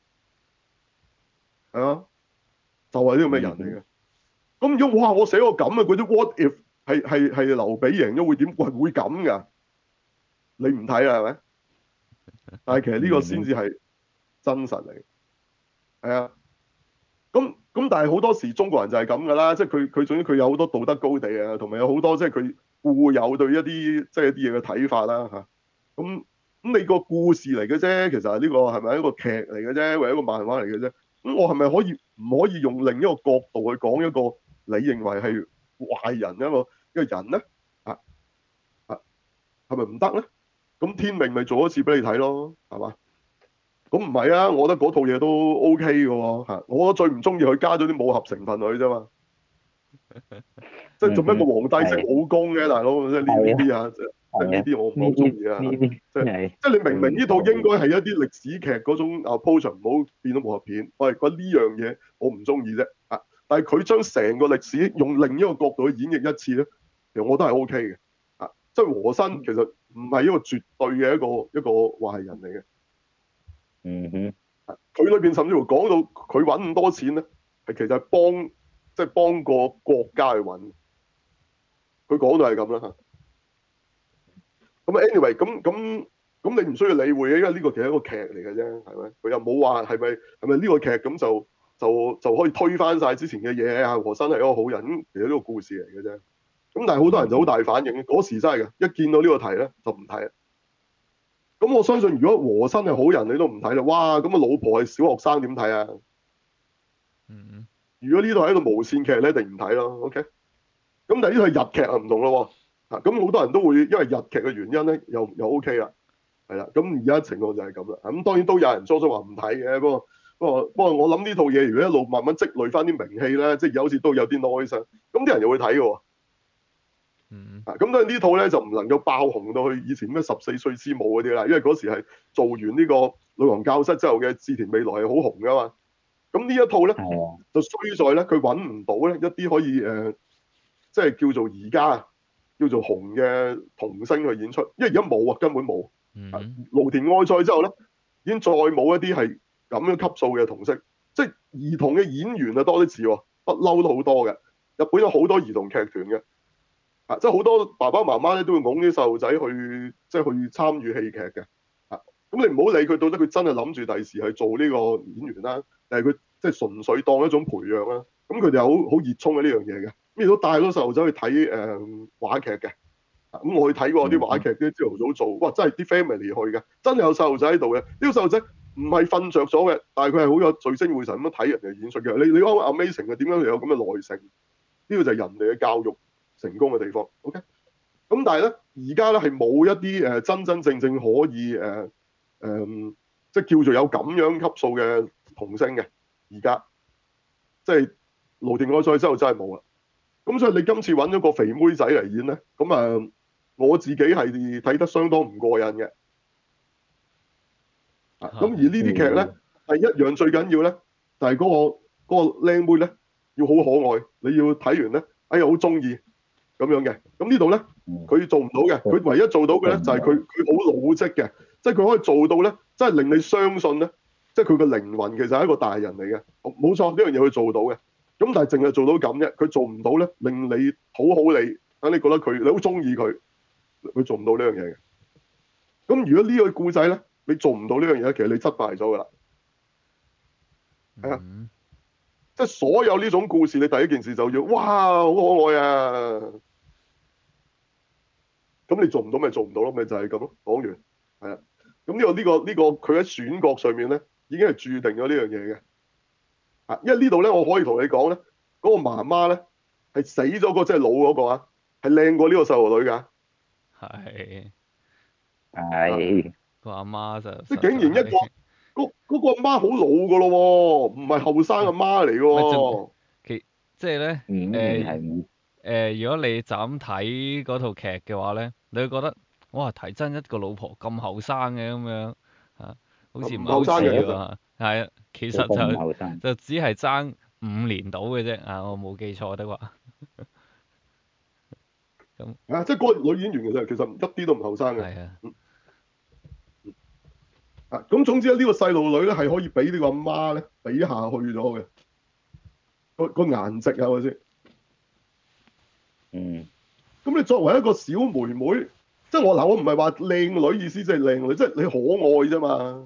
係啊，就係呢個咩人嚟嘅。咁如果哇，我寫個咁嘅嗰啲 what if 係係係劉備贏咗會點？喂，會咁㗎？你唔睇啦係咪？但係其實呢個先至係真實嚟，係啊。咁咁但係好多時中國人就係咁㗎啦，即係佢佢總之佢有好多道德高地啊，同埋有好多即係佢固有對一啲即係一啲嘢嘅睇法啦嚇。咁咁你個故事嚟嘅啫，其實係呢個係咪一個劇嚟嘅啫，或者一個漫畫嚟嘅啫？咁我係咪可以唔可以用另一個角度去講一個你認為係壞人一個一個人咧？啊啊，係咪唔得咧？咁天命咪做一次俾你睇咯，係嘛？咁唔係啊，我覺得嗰套嘢都 O K 嘅喎嚇。我最唔中意佢加咗啲武俠成分落去啫嘛。即係做咩個皇帝識武功嘅大佬？即係呢呢啲啊，即係呢啲我唔係好中意啊。即係即係你明明呢套應該係一啲歷史劇嗰種 approach，唔好變咗武俠片。我係覺得呢樣嘢我唔中意啫啊！但係佢將成個歷史用另一個角度去演繹一次咧，其實我都係 O K 嘅啊。即係和珅其實唔係一個絕對嘅一個一個壞人嚟嘅。 嗯哼， 佢裏邊甚至乎講到佢揾咁多錢咧，係其實係幫即係幫個國家去揾。佢講到係咁啦嚇。咁 anyway 咁咁咁你唔需要理會嘅，因為呢個其實係一個劇嚟嘅啫，係咪？佢又冇話係咪係咪呢個劇咁就就就可以推翻晒之前嘅嘢啊？和珅係一個好人，其實呢個故事嚟嘅啫。咁但係好多人就好大反應，嗰時真係嘅，一見到呢個題咧就唔睇。咁我相信如果和珅係好人，你都唔睇啦。哇！咁啊老婆係小學生點睇啊？ 嗯。 如果呢度係一個無線劇咧，一定唔睇咯。OK。咁但係呢套係日劇啊，唔同咯。啊，咁好多人都會因為日劇嘅原因咧，又又 OK 啦，係啦。咁而家情況就係咁啦。咁當然都有人初初話唔睇嘅，不過不過不過我諗呢套嘢如果一路慢慢積累翻啲名氣咧，即係有時都有啲 noise，咁啲人又會睇嘅喎。 嗯。 啊，咁當然呢套咧就唔能夠爆紅到去以前咩十四歲之母嗰啲啦，因為嗰時係做完呢個女王教室之後嘅志田未來係好紅噶嘛。咁呢一套咧就衰在咧佢揾唔到咧一啲可以誒即係叫做而家叫做紅嘅童星去演出，因為而家冇啊，根本冇。 嗯蘆田愛菜之後咧，已經再冇一啲係咁樣級數嘅童星，即係兒童嘅演員啊多啲似喎，不嬲都好多嘅。日本有好多兒童劇團嘅，啊，即係好多爸爸媽媽咧都會擁啲細路仔去，即係去參與戲劇嘅。啊，咁你唔好理佢到底佢真係諗住第時係做呢個演員啦，定係佢即係純粹當一種培養啦。咁佢哋好好熱衷嘅呢樣嘢嘅，咁亦都帶咗細路仔去睇誒、呃、話劇嘅。咁我去睇過啲話劇，啲朝頭早做，哇！真係啲 family 去嘅，真係有細路仔喺度嘅。呢個細路仔唔係瞓着咗嘅，但係佢係好有聚精會神咁樣睇人哋演出嘅。你你講 amazing 嘅，點解佢有咁嘅耐性？呢個就係人哋嘅教育成功嘅地方。OK，咁但係咧，而家咧係冇一啲誒真真正正可以誒誒、呃呃，即係叫做有咁樣級數嘅童星嘅。而家即係蘆田愛菜之後真係冇啦。咁所以你今次揾咗個肥妹仔嚟演咧，咁啊〜我自己係睇得相當唔過癮嘅，啊咁而呢啲劇咧係一樣最緊要咧，就係嗰個嗰個靚妹咧要好可愛，你要睇完咧，哎呀好中意咁樣嘅。咁呢度咧佢做唔到嘅，佢唯一做到嘅咧就係佢佢好老積嘅，即係佢可以做到咧，真係令你相信咧，即係佢個靈魂其實係一個大人嚟嘅，冇錯，呢樣嘢佢做到嘅。咁但係淨係做到咁啫，佢做唔到咧，令你討好你，等你覺得佢你好中意佢。佢做唔到呢樣嘢嘅，咁如果呢個故仔咧，你做唔到呢樣嘢，其實你失敗咗噶啦，係啊、嗯，即係所有呢種故事，你第一件事就要，哇，好可愛啊！咁你做唔到咪做唔到咯，咪就係咁咯。講完，係啊，咁呢個呢個呢個佢喺選角上面咧，已經係注定咗呢樣嘢嘅，啊，因為呢度咧，我可以同你講咧，嗰個媽媽咧係死咗個即係老嗰個啊，係靚過呢個細路女㗎。 係係個阿媽就即係竟然一個嗰嗰個阿媽好老㗎咯喎，唔係後生阿媽嚟㗎喎。 其即係咧誒誒，如果你就咁睇嗰套劇嘅話咧，你會覺得哇睇真一個老婆咁後生嘅咁樣嚇，好似唔係好似喎。係啊，其實就就只係爭五年到嘅啫啊！我冇記錯的話。咁啊，即係嗰個女演員其實其實一啲都唔後生嘅。 係啊。 嗯啊，咁總之咧，呢個細路女咧係可以俾呢個阿媽咧比下去咗嘅，個個顏值係咪先？ 嗯。 咁你作為一個小妹妹，即係我嗱，我唔係話靚女意思，即係靚女，即係你可愛啫嘛。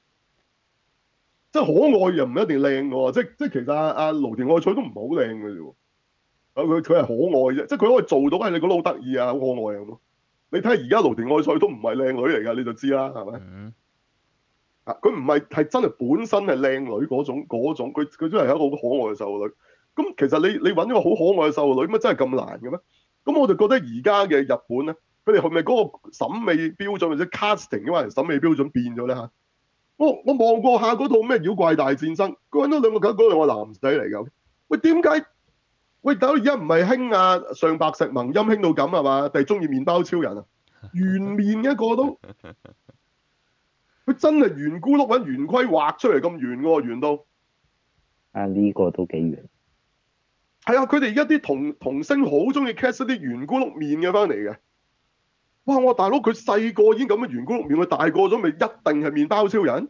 即係可愛又唔一定靚嘅喎，即係即係其實阿阿蘆田愛菜都唔係好靚嘅啫喎。啊，佢佢係可愛啫，即係佢可以做到，係你覺得好得意啊，好可愛啊咁咯。你睇下而家蘆田愛菜都唔係靚女嚟㗎，你就知啦，係咪？ 嗯。 啊！佢唔係係真係本身係靚女嗰種嗰種，佢佢真係一個好可愛嘅細路女。咁其實你你揾一個好可愛嘅細路女，乜真係咁難嘅咩？咁我就覺得而家嘅日本咧，佢哋係咪嗰個審美標準或者 casting 嘅話，審美標準變咗咧嚇？我我望過下嗰套咩妖怪大戰爭，佢揾咗兩個嗰兩個男仔嚟㗎。喂，點解？喂，大佬而家唔係興啊上白石萌音興到咁係嘛？定係中意麵包超人啊？圓面一個都。佢真係圓咕碌揾圓規畫出嚟咁圓喎，圓到啊呢、這個都幾圓。 係啊，佢哋而家啲童童星好中意 cast 一啲圓咕碌面嘅翻嚟嘅。哇！我大佬佢細個已經咁嘅圓咕碌面，佢大個咗咪一定係麵包超人？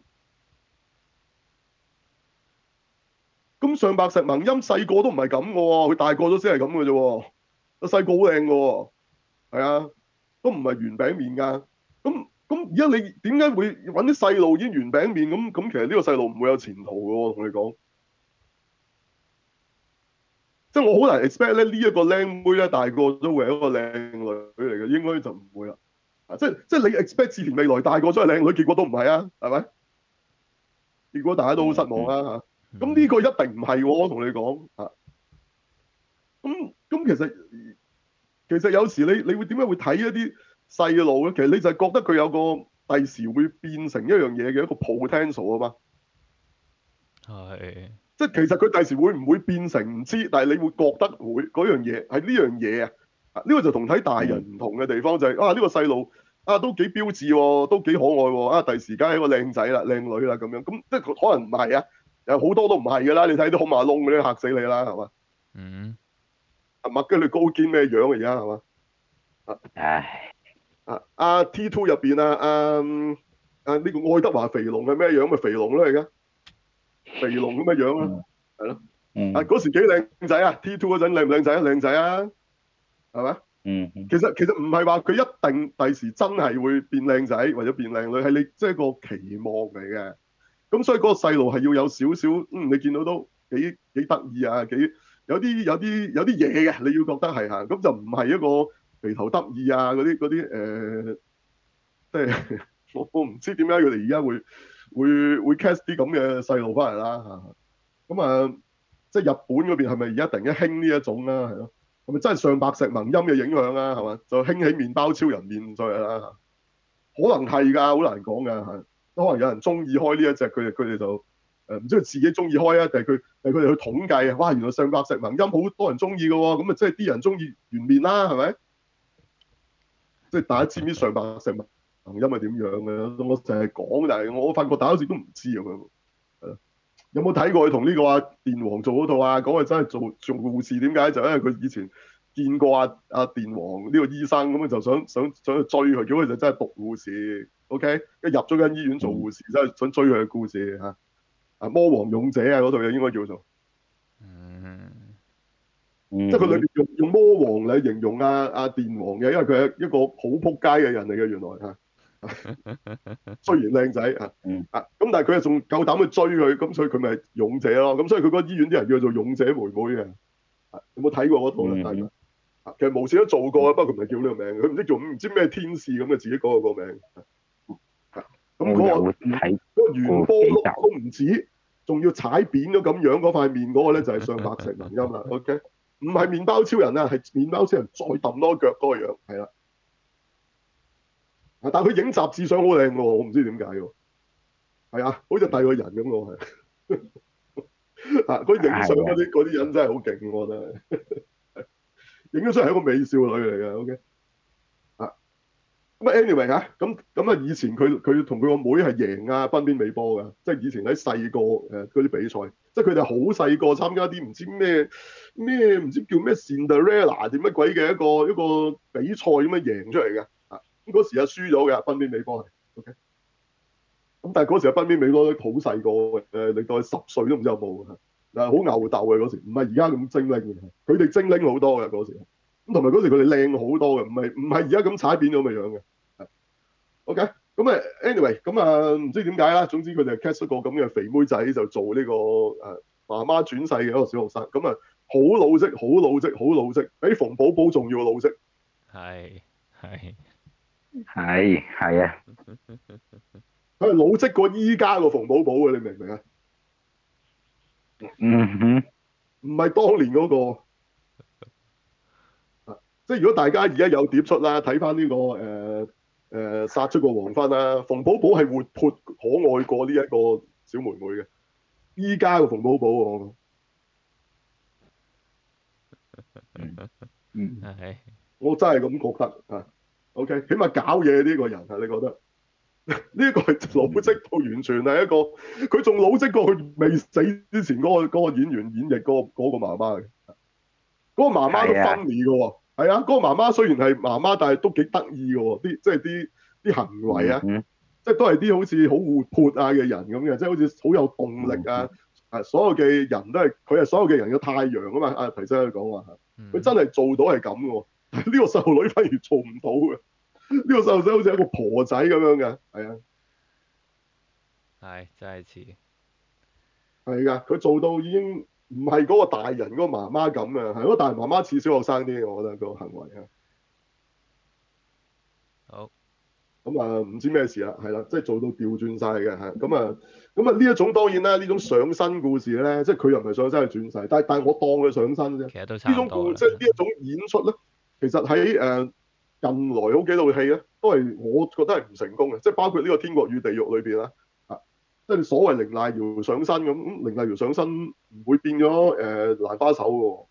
咁上白石萌音細個都唔係咁嘅喎，佢大個咗先係咁嘅啫喎。個細個好靚嘅喎，係啊，都唔係圓餅面㗎。咁咁而家你點解會揾啲細路演圓餅面咁？咁其實呢個細路唔會有前途嘅喎，同你講。即係我好難 expect 咧，呢一個靚妹咧大個都會係一個靚女嚟嘅，應該就唔會啦。啊，即係即係你 expect 志田未來大個都係靚女，結果都唔係啊，係咪？結果大家都好失望啊嚇。咁呢、嗯、個一定唔係喎，我同你講啊。咁咁其實其實有時你你會點解會睇一啲細路咧？其實你就係覺得佢有個第時會變成一樣嘢嘅一個 potential 啊嘛。 係。 即係其實佢第時會唔會變成唔知，但係你會覺得會嗰樣嘢係呢樣嘢啊！啊，呢個就同睇大人唔同嘅地方就係、是、啊，呢、呢個細路啊都幾標緻喎，都幾可愛喎啊！第時梗係一個靚仔啦、靚女啦咁樣，咁即係可能唔係啊，有好多都唔係㗎啦。你睇啲好馬窿嗰啲嚇死你啦，係嘛？ 嗯。 阿麥基里高堅咩樣啊？而家係嘛？啊唉， 啊啊 T two 入邊啊啊啊呢個愛德華肥龍係咩樣？咪肥龍咯而家，肥龍咁嘅樣啊，係咯。 嗯啊嗰時幾靚仔啊 ！T two 嗰陣靚唔靚仔啊？靚仔啊，係咪？ 嗯其實其實唔係話佢一定第時真係會變靚仔或者變靚女，係你即係個期望嚟嘅。咁所以嗰個細路係要有少少，嗯，你見到都幾幾得意啊，幾有啲有啲有啲嘢嘅，你要覺得係嚇，咁就唔係一個肥頭得意啊嗰啲嗰啲誒，即係我我唔知點解佢哋而家會會會 cast 啲咁嘅細路翻嚟啦嚇。咁啊，即係日本嗰邊係咪而家突然間興呢一種啦？係咯，係咪真係上白石萌音嘅影響啊？係嘛，就興起麵包超人面上嚟啦。可能係㗎，好難講㗎，係。可能有人中意開呢一隻，佢哋佢哋就誒唔知佢自己中意開啊，定係佢定係佢哋去統計啊？哇，原來上白石萌音好多人中意嘅喎，咁啊即係啲人中意原面啦，係咪？即係大家知唔知上白石萌音係點樣嘅？我成日講，但係我發覺大家好似都唔知咁樣。係咯，有冇睇過佢同呢個阿電王做嗰套啊？講佢真係做做護士，點解？就因為佢以前見過阿阿電王呢個醫生，咁啊就想想想去追佢，結果佢就真係讀護士。OK，一入咗間醫院做護士，真係想追佢嘅故事嚇。啊，魔王勇者啊，嗰套嘢應該叫做， 嗯， 即係佢裏邊用用魔王嚟形容阿阿電王嘅，因為佢係一個好撲街嘅人嚟嘅，原來嚇。雖然靚仔啊，啊咁，但係佢又仲夠膽去追佢，咁所以佢咪勇者咯。咁所以佢嗰個醫院啲人叫做勇者妹妹嘅。啊，有冇睇過嗰套咧？大家啊，其實無線都做過啊，不過佢唔係叫呢個名，佢唔知叫唔知咩天使咁嘅，自己改個個名。咁嗰個嗰個圓波碌都唔止，仲要踩扁咗咁樣嗰塊面嗰個咧就係上白石萌音啦。OK，唔係麵包超人啊，係麵包超人再揼多腳嗰個樣，係啦。但係佢影雜誌相好靚喎，我唔知點解喎。係啊，好似第二個人咁喎，係。啊，佢影相嗰啲嗰啲人真係好勁，我覺得。影咗出嚟係一個美少女嚟嘅。OK。咁啊，anyway 嚇，咁咁啊，以前佢佢同佢個妹係贏啊濱邊美波㗎，即係以前喺細個誒嗰啲比賽，即係佢哋好細個參加啲唔知咩咩唔知叫咩 Cinderella 點乜鬼嘅一個一個比賽咁樣贏出嚟嘅。啊，咁嗰時啊輸咗嘅濱邊美波係 OK。咁但係嗰時啊濱邊美波都好細個嘅，誒你當佢十歲都唔知有冇啊，嗱好牛鬥嘅嗰時，唔係而家咁精靈嘅，佢哋精靈好多嘅嗰時。咁同埋嗰時佢哋靚好多嘅，唔係唔係而家咁踩扁咗咁嘅樣嘅。OK，咁啊，anyway，咁啊，唔知點解啦。總之佢哋 cast 一個咁嘅肥妹仔就做呢、這個誒、啊、媽媽轉世嘅一個小學生，咁啊好老積，好老積，好老積，比馮寶寶仲要老積。 係係係係啊， 佢係老積過依家個馮寶寶嘅，你明唔明啊？ 嗯哼， 唔係當年嗰、那個。啊，即係如果大家而家有碟出啦，睇翻呢個誒。呃誒、呃、殺出個黃昏啦！馮寶寶係活潑可愛過呢一個小妹妹嘅，依家個馮寶寶喎， 嗯， 係我真係咁覺得啊。OK，起碼搞嘢呢個人啊，你覺得呢個係老積到完全係一個，佢仲老積過佢未死之前嗰、嗰個嗰個演員演繹嗰、嗰個嗰個媽媽嘅，嗰、嗰個媽媽都 funny 嘅喎。係啊，嗰、嗰個媽媽雖然係媽媽，但係都幾得意嘅喎，啲即係啲啲行為啊。 嗯即係都係啲好似好活潑啊嘅人咁嘅，即係好似好有動力啊！啊，所有嘅人都係佢係所有嘅人嘅太陽啊嘛！阿提生佢講話，佢真係做到係咁嘅喎。呢個細路女反而做唔到嘅，呢個細路仔好似一個婆仔咁樣嘅，係啊， 係真係似， 係㗎，佢做到已經唔係嗰個大人嗰個媽媽咁啊，係嗰個大人媽媽似小學生啲，我覺得個行為啊。 好。 咁啊，唔知咩事啦，係啦，即係做到調轉晒嘅嚇，咁啊，咁啊呢一種當然啦，呢種上身故事咧，即係佢又唔係上身係轉世，但係但係我當佢上身啫。 其實都差唔多啦。 呢種故即係呢一種演出咧，其實喺誒、呃、近來好幾套戲咧，都係我覺得係唔成功嘅，即係包括呢個《天國與地獄》裏邊啦，啊，即係所謂凌瀨瑤上身咁，咁凌瀨瑤上身唔會變咗誒、呃、蘭花手嘅喎。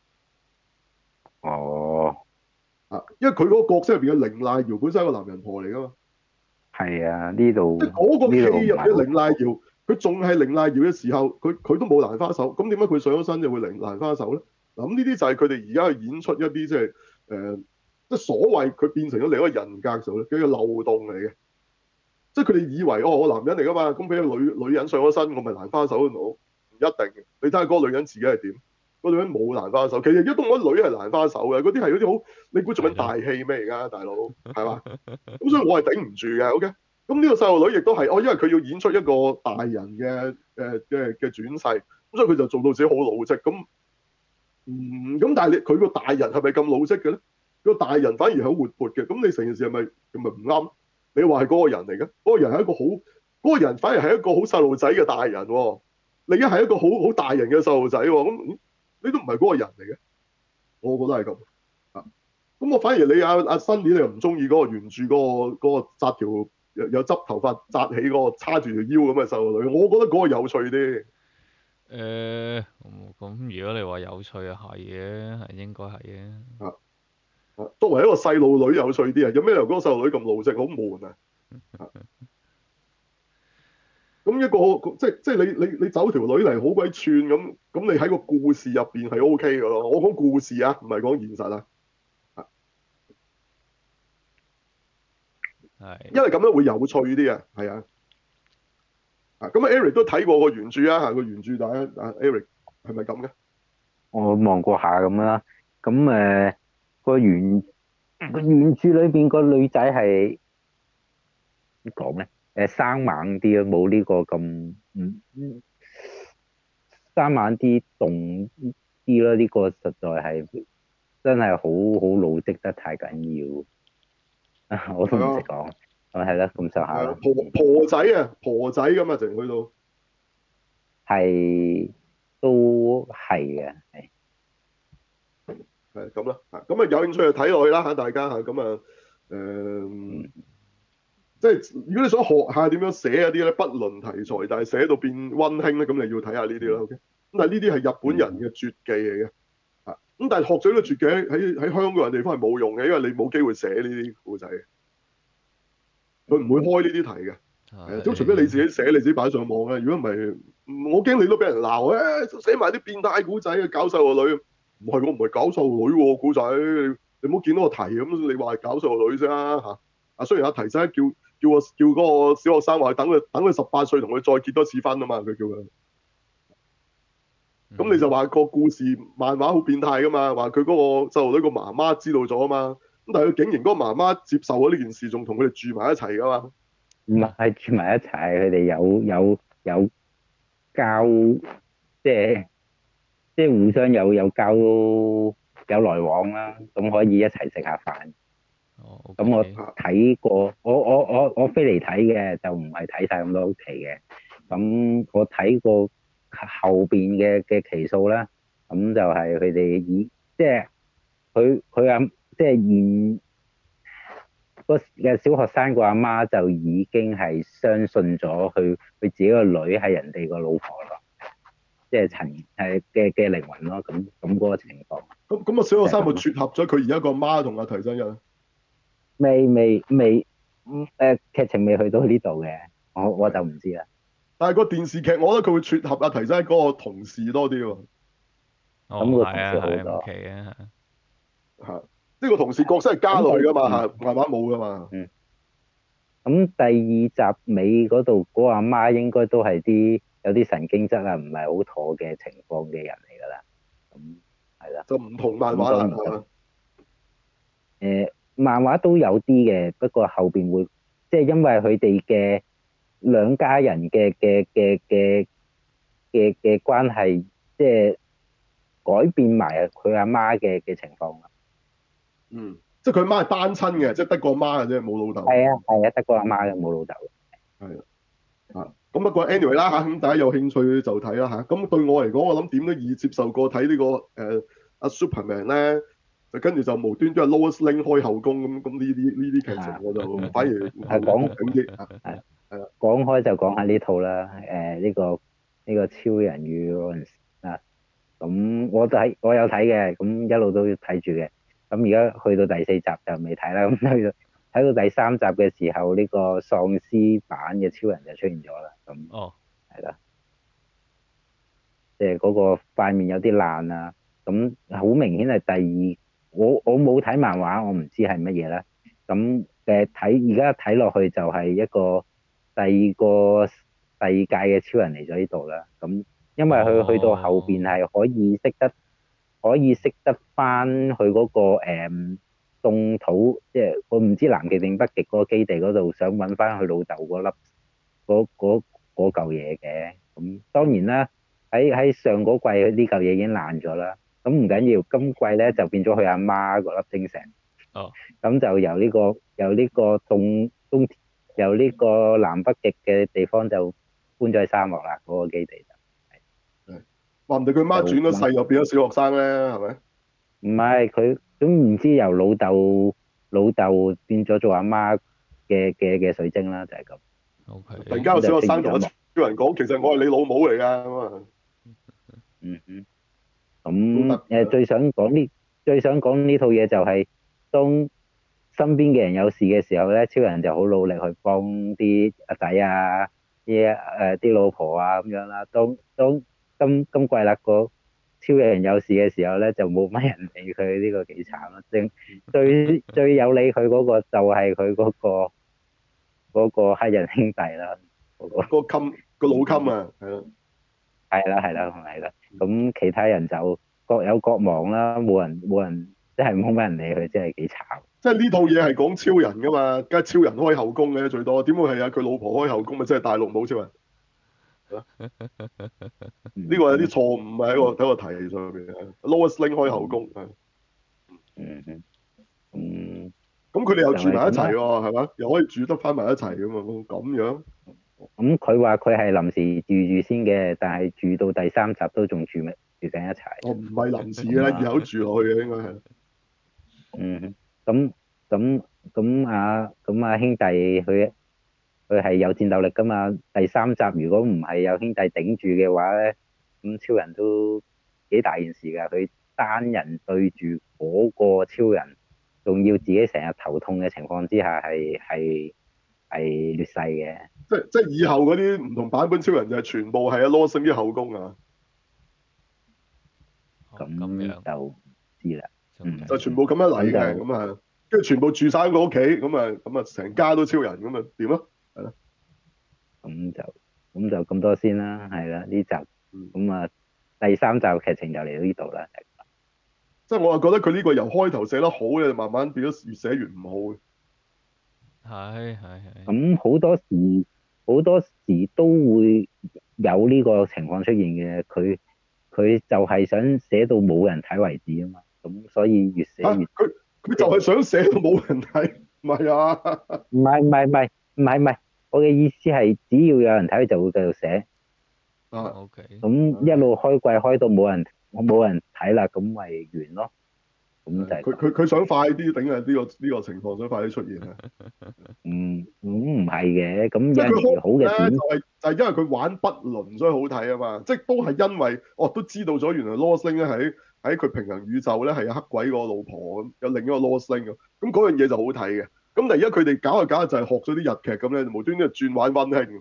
哦。 啊，因為佢嗰個角色入邊嘅凌瀨瑤本身係一個男人婆嚟噶嘛。 係啊，呢度即係嗰個戲入嘅凌呢瀨瑤，佢仲係凌瀨瑤嘅時候，佢佢都冇蘭花手，咁點解佢上咗身就會凌蘭花手咧？ 嗱，咁呢啲就係佢哋而家去演出一啲即係誒，即係所謂佢變成咗另一個人格時候咧，佢嘅漏洞嚟嘅。即係佢哋以為哦，我男人嚟噶嘛，咁俾個女女人上咗身，我咪蘭花手都唔一定嘅。你睇下嗰個女人自己係點？嗰個女人冇蘭花手，其實而家都冇乜女係蘭花手嘅，嗰啲係嗰啲好，你估做緊大戲咩而家大佬係嘛？咁所以我係頂唔住嘅。OK，咁呢個細路女亦都係，哦，因為佢要演出一個大人嘅誒嘅嘅轉世，咁所以佢就做到自己好老積咁。嗯，咁但係你佢個大人係咪咁老積嘅咧？個大人反而係好活潑嘅，咁你成件事係咪係咪唔啱？你話係嗰個人嚟嘅，嗰個人係一個好，嗰個人反而係一個好細路仔嘅大人喎。你而家係一個好好大人嘅細路仔喎，咁你都唔係嗰個人嚟嘅，我覺得係咁啊。咁我反而你阿阿新年你又唔中意嗰個原著嗰個嗰個紮條有有執頭髮紮起嗰個叉住條腰咁嘅細路女，我覺得嗰個有趣啲。 誒，咁、呃、如果你話有趣啊，係嘅，係應該係嘅。 啊啊，作為一個細路女有趣啲啊，有咩理由嗰個細路女咁老積，好悶啊！咁一個即係即係你你你走條女嚟好鬼串咁，咁你喺個故事入邊係 O K 嘅咯。我講故事啊，唔係講現實啊。 係。 因為咁樣會有趣啲啊，係啊。啊，咁啊，Eric 都睇過個原著啊，個原著大家啊，Eric 係咪咁嘅？ 我望過下咁啦，咁誒個原個原著裏邊個女仔係點講咧？誒生猛啲咯，冇呢個咁嗯生猛啲動啲咯。呢個實在係真係好好老積得太緊要啊！我都唔識講，咁係啦，咁上下啦。 婆婆仔啊，婆仔咁啊，淨去到係都係嘅，係係咁啦。咁啊，有興趣就睇落去啦嚇，大家嚇咁啊誒。嗯即係如果你想學下點樣寫嗰啲咧，不論題材，但係寫到變溫馨咧，咁你要睇下呢啲啦。OK，咁但係呢啲係日本人嘅絕技嚟嘅，啊咁但係學咗呢個絕技喺喺香港人地方係冇用嘅，因為你冇機會寫呢啲故仔，佢唔會開呢啲題嘅，係都除非你自己寫，你自己擺上網啊。如果唔係，我驚你都俾人鬧誒，寫埋啲變態故仔啊，搞細路女，唔係我唔係搞細路女喎，故仔你唔好見到個題咁，你話係搞細路女啫嚇。啊，雖然阿提仔叫。叫我叫嗰個小學生話等佢等佢十八歲同佢再結多次婚啊嘛，佢叫佢。咁、嗯、你就話個故事漫畫好變態噶嘛，話佢嗰個細路女個媽媽知道咗啊嘛，咁但係佢竟然嗰個媽媽接受咗呢件事，仲同佢哋住埋一齊噶嘛。 唔係住埋一齊，佢哋有有有交，即係即係互相有有交有來往啦，咁可以一齊食下飯。 哦，咁、 okay. 我睇過，我我我我飛嚟睇嘅，就唔係睇晒咁多期嘅。咁我睇過後邊嘅嘅期數啦，咁就係佢哋以即係佢佢阿即係現個嘅小學生個阿媽就已經係相信咗佢佢自己個女係人哋個老婆咯，即係陳係嘅嘅靈魂咯。咁咁嗰個情況。 咁咁啊，小學生咪撮合咗佢而家個媽同阿提真人？ 未未未，嗯誒劇情未去到呢度嘅，我我就唔知啦。 但係個電視劇，我覺得佢會撮合阿提真嗰個同事多啲喎。 哦， 咁個同係啊， 事好多。 係唔奇啊。 嚇！呢個同事角色係家女噶嘛嚇，慢慢冇噶嘛。 嗯。咁第二集尾嗰度嗰個阿媽應該都係啲有啲神經質啊，唔係好妥嘅情況嘅人嚟㗎啦。咁係啦。 就唔同漫畫啦，係嘛？ 誒，漫畫都有啲嘅，不過後邊會即係因為佢哋嘅兩家人嘅嘅嘅嘅嘅嘅關係，即係改變埋佢阿媽嘅嘅情況啦。 嗯，即係佢媽係單親嘅，即係得個媽嘅啫，冇老豆。 係啊，係啊，得個阿媽嘅，冇老豆。 係啊，咁不過 anyway 啦嚇，咁大家有興趣就睇啦嚇。咁對我嚟講，我諗點都易接受過睇呢、呢個誒阿、呃、Superman 咧，就跟住就無端端係 Lois Lane 開後宮咁，咁呢啲呢啲劇情我就反而係講緊啲啊。係係啦， 講開就講下呢套啦，誒、呃、呢、呢個呢、呢個超人與羅恩啊，咁我睇我有睇嘅，咁一路都睇住嘅。咁而家去到第四集就未睇啦，咁去到睇到第三集嘅時候，呢、呢個喪屍版嘅超人就出現咗啦。咁哦， 係啦，即係嗰個塊面有啲爛啊， 咁好明顯係第二，我我冇睇漫畫，我唔知係乜嘢啦。咁誒睇而家睇落去就係一個第二個世界嘅超人嚟咗呢度啦。咁因為佢去到後邊係可以識得可以識得翻去嗰個誒凍土，即係我唔知南極定北極嗰個基地嗰度，想揾翻佢老豆嗰粒嗰嗰嗰嚿嘢嘅。咁當然啦，喺喺上嗰季呢嚿嘢已經爛咗啦。咁唔緊要，今季咧就變咗佢阿媽嗰粒精石。 哦。 咁就由呢、個由呢個東東由呢個南北極嘅地方就搬咗去沙漠啦，嗰、個基地就係。 話唔定佢媽轉咗世又變咗小學生咧，係咪？ 唔係佢都唔知由老豆老豆變咗做阿媽嘅嘅嘅水晶啦，就係、咁。 O K。 突然間有小學生同個超人講，其實我係你老母嚟㗎咁啊！ 嗯哼。咁誒最想講呢最想講呢套嘢就係、當身邊嘅人有事嘅時候咧，超人就好努力去幫啲阿仔啊、啲誒啲老婆啊咁樣啦。當當今今季啦個超人有事嘅時候咧，就冇乜人理佢，呢、個幾慘咯。正最最有理佢嗰個就係佢嗰個嗰、個黑人兄弟啦，嗰、個個襟個老襟啊，係咯。 係啦係啦係啦。咁其他人就各有各忙啦，冇人冇人即係冇乜人理佢，真係幾慘。 即係呢套嘢係講超人㗎嘛，梗係超人開後宮嘅最多，點會係啊佢老婆開後宮咪即係大陸冇超人？呢個有啲錯誤喺個喺個題上邊啊 Lois Lane 開後宮係。 嗯嗯嗯。 咁佢哋又住埋一齊就係咁喎，係嘛？又可以住得翻埋一齊㗎嘛？咁樣。 咁佢話佢係臨時住住先嘅，但係住到第三集都仲住埋住緊一齊。 我唔係臨時啦，以後住落去嘅應該係。 嗯，咁咁咁啊咁啊兄弟佢佢係有戰鬥力噶嘛？第三集如果唔係有兄弟頂住嘅話咧，咁超人都幾大件事㗎。佢單人對住嗰個超人，仲要自己成日頭痛嘅情況之下，係係係劣勢嘅。 即即係以後嗰啲唔同版本超人就係全部係阿 Lois Lane 啲後宮啊， 咁咁樣就唔知啦。嗯， 就全部咁樣嚟嘅， 咁就咁啊，跟住全部住晒喺個屋企，咁啊，咁啊，成家都超人，咁啊點啊？係咯。 咁就咁就咁多先啦，係啦，呢集嗯咁啊第三集劇情就嚟到呢度啦。 即係我係覺得佢呢個由開頭寫得好嘅，慢慢變咗越寫越唔好嘅。 係係係。 咁好多時好多時都會有呢個情況出現嘅，佢佢就係想寫到冇人睇為止啊嘛，咁所以越寫嚇越佢佢就係想寫到冇人睇，唔係啊？ 唔係唔係唔係唔係唔係，我嘅意思係只要有人睇，佢就會繼續寫。 啊， O K。 咁一路開季開到冇人冇人睇啦，咁咪完咯。咁就係佢佢佢想快啲頂啊！呢個呢個情況想快啲出現啊！ 嗯，咁唔係嘅，咁即係佢有陣時好嘅咧， 點就係就係因為佢玩不倫，所以好睇啊嘛！即係都係因為哦，都知道咗原來 Lois Lane 咧喺喺佢平行宇宙咧係有黑鬼個老婆咁，有另一個 Lois Lane 咁，咁嗰樣嘢就好睇嘅。咁但係而家佢哋搞下搞下就係學咗啲日劇咁咧，無端端轉玩溫馨。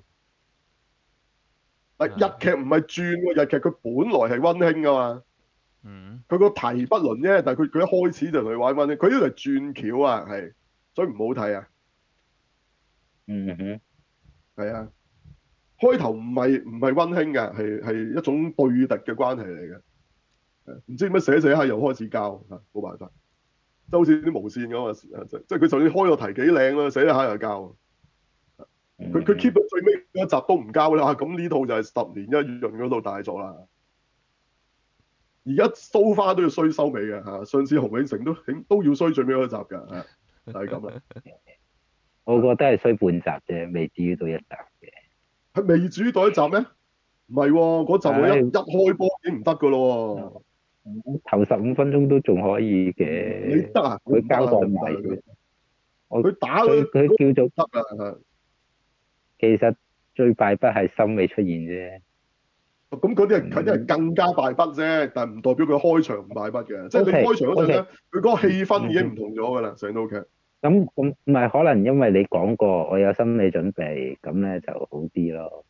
但日劇唔係轉喎，日劇佢本來係溫馨噶嘛。 嗯。 佢個題不倫啫，但係佢佢一開始就同你玩溫馨，佢呢度係轉橋啊，係，所以唔好睇啊。 嗯哼。 係啊。開頭唔係唔係溫馨嘅，係係一種對敵嘅關係嚟嘅。唔知點解寫寫下又開始交嚇，冇辦法，即係好似啲無線咁啊！即即係佢就算開個題幾靚啦，寫下又交。佢佢 keep 到最尾一集都唔交啦，咁呢套就係十年一潤嗰套大作啦。而家蘇花都要衰收尾嘅嚇，上次洪永城都都要衰最尾嗰集㗎嚇，就係咁啦。 我覺得係衰半集啫，未至於到一集嘅。 係未至於到一集咩？唔係喎，嗰集我一係一開波已經唔得㗎咯喎。 頭十五分鐘都仲可以嘅。 你得啊？ 佢交代埋佢我佢打佢佢叫做得啊！ 其實最敗筆係心尾出現啫。 咁嗰啲係佢啲係更加敗筆啫，但係唔代表佢開場唔敗筆嘅。即係你開場嗰陣咧，佢嗰個氣氛已經唔同咗㗎啦，成套劇。 咁咁唔係可能因為你講過，我有心理準備，咁咧就好啲咯。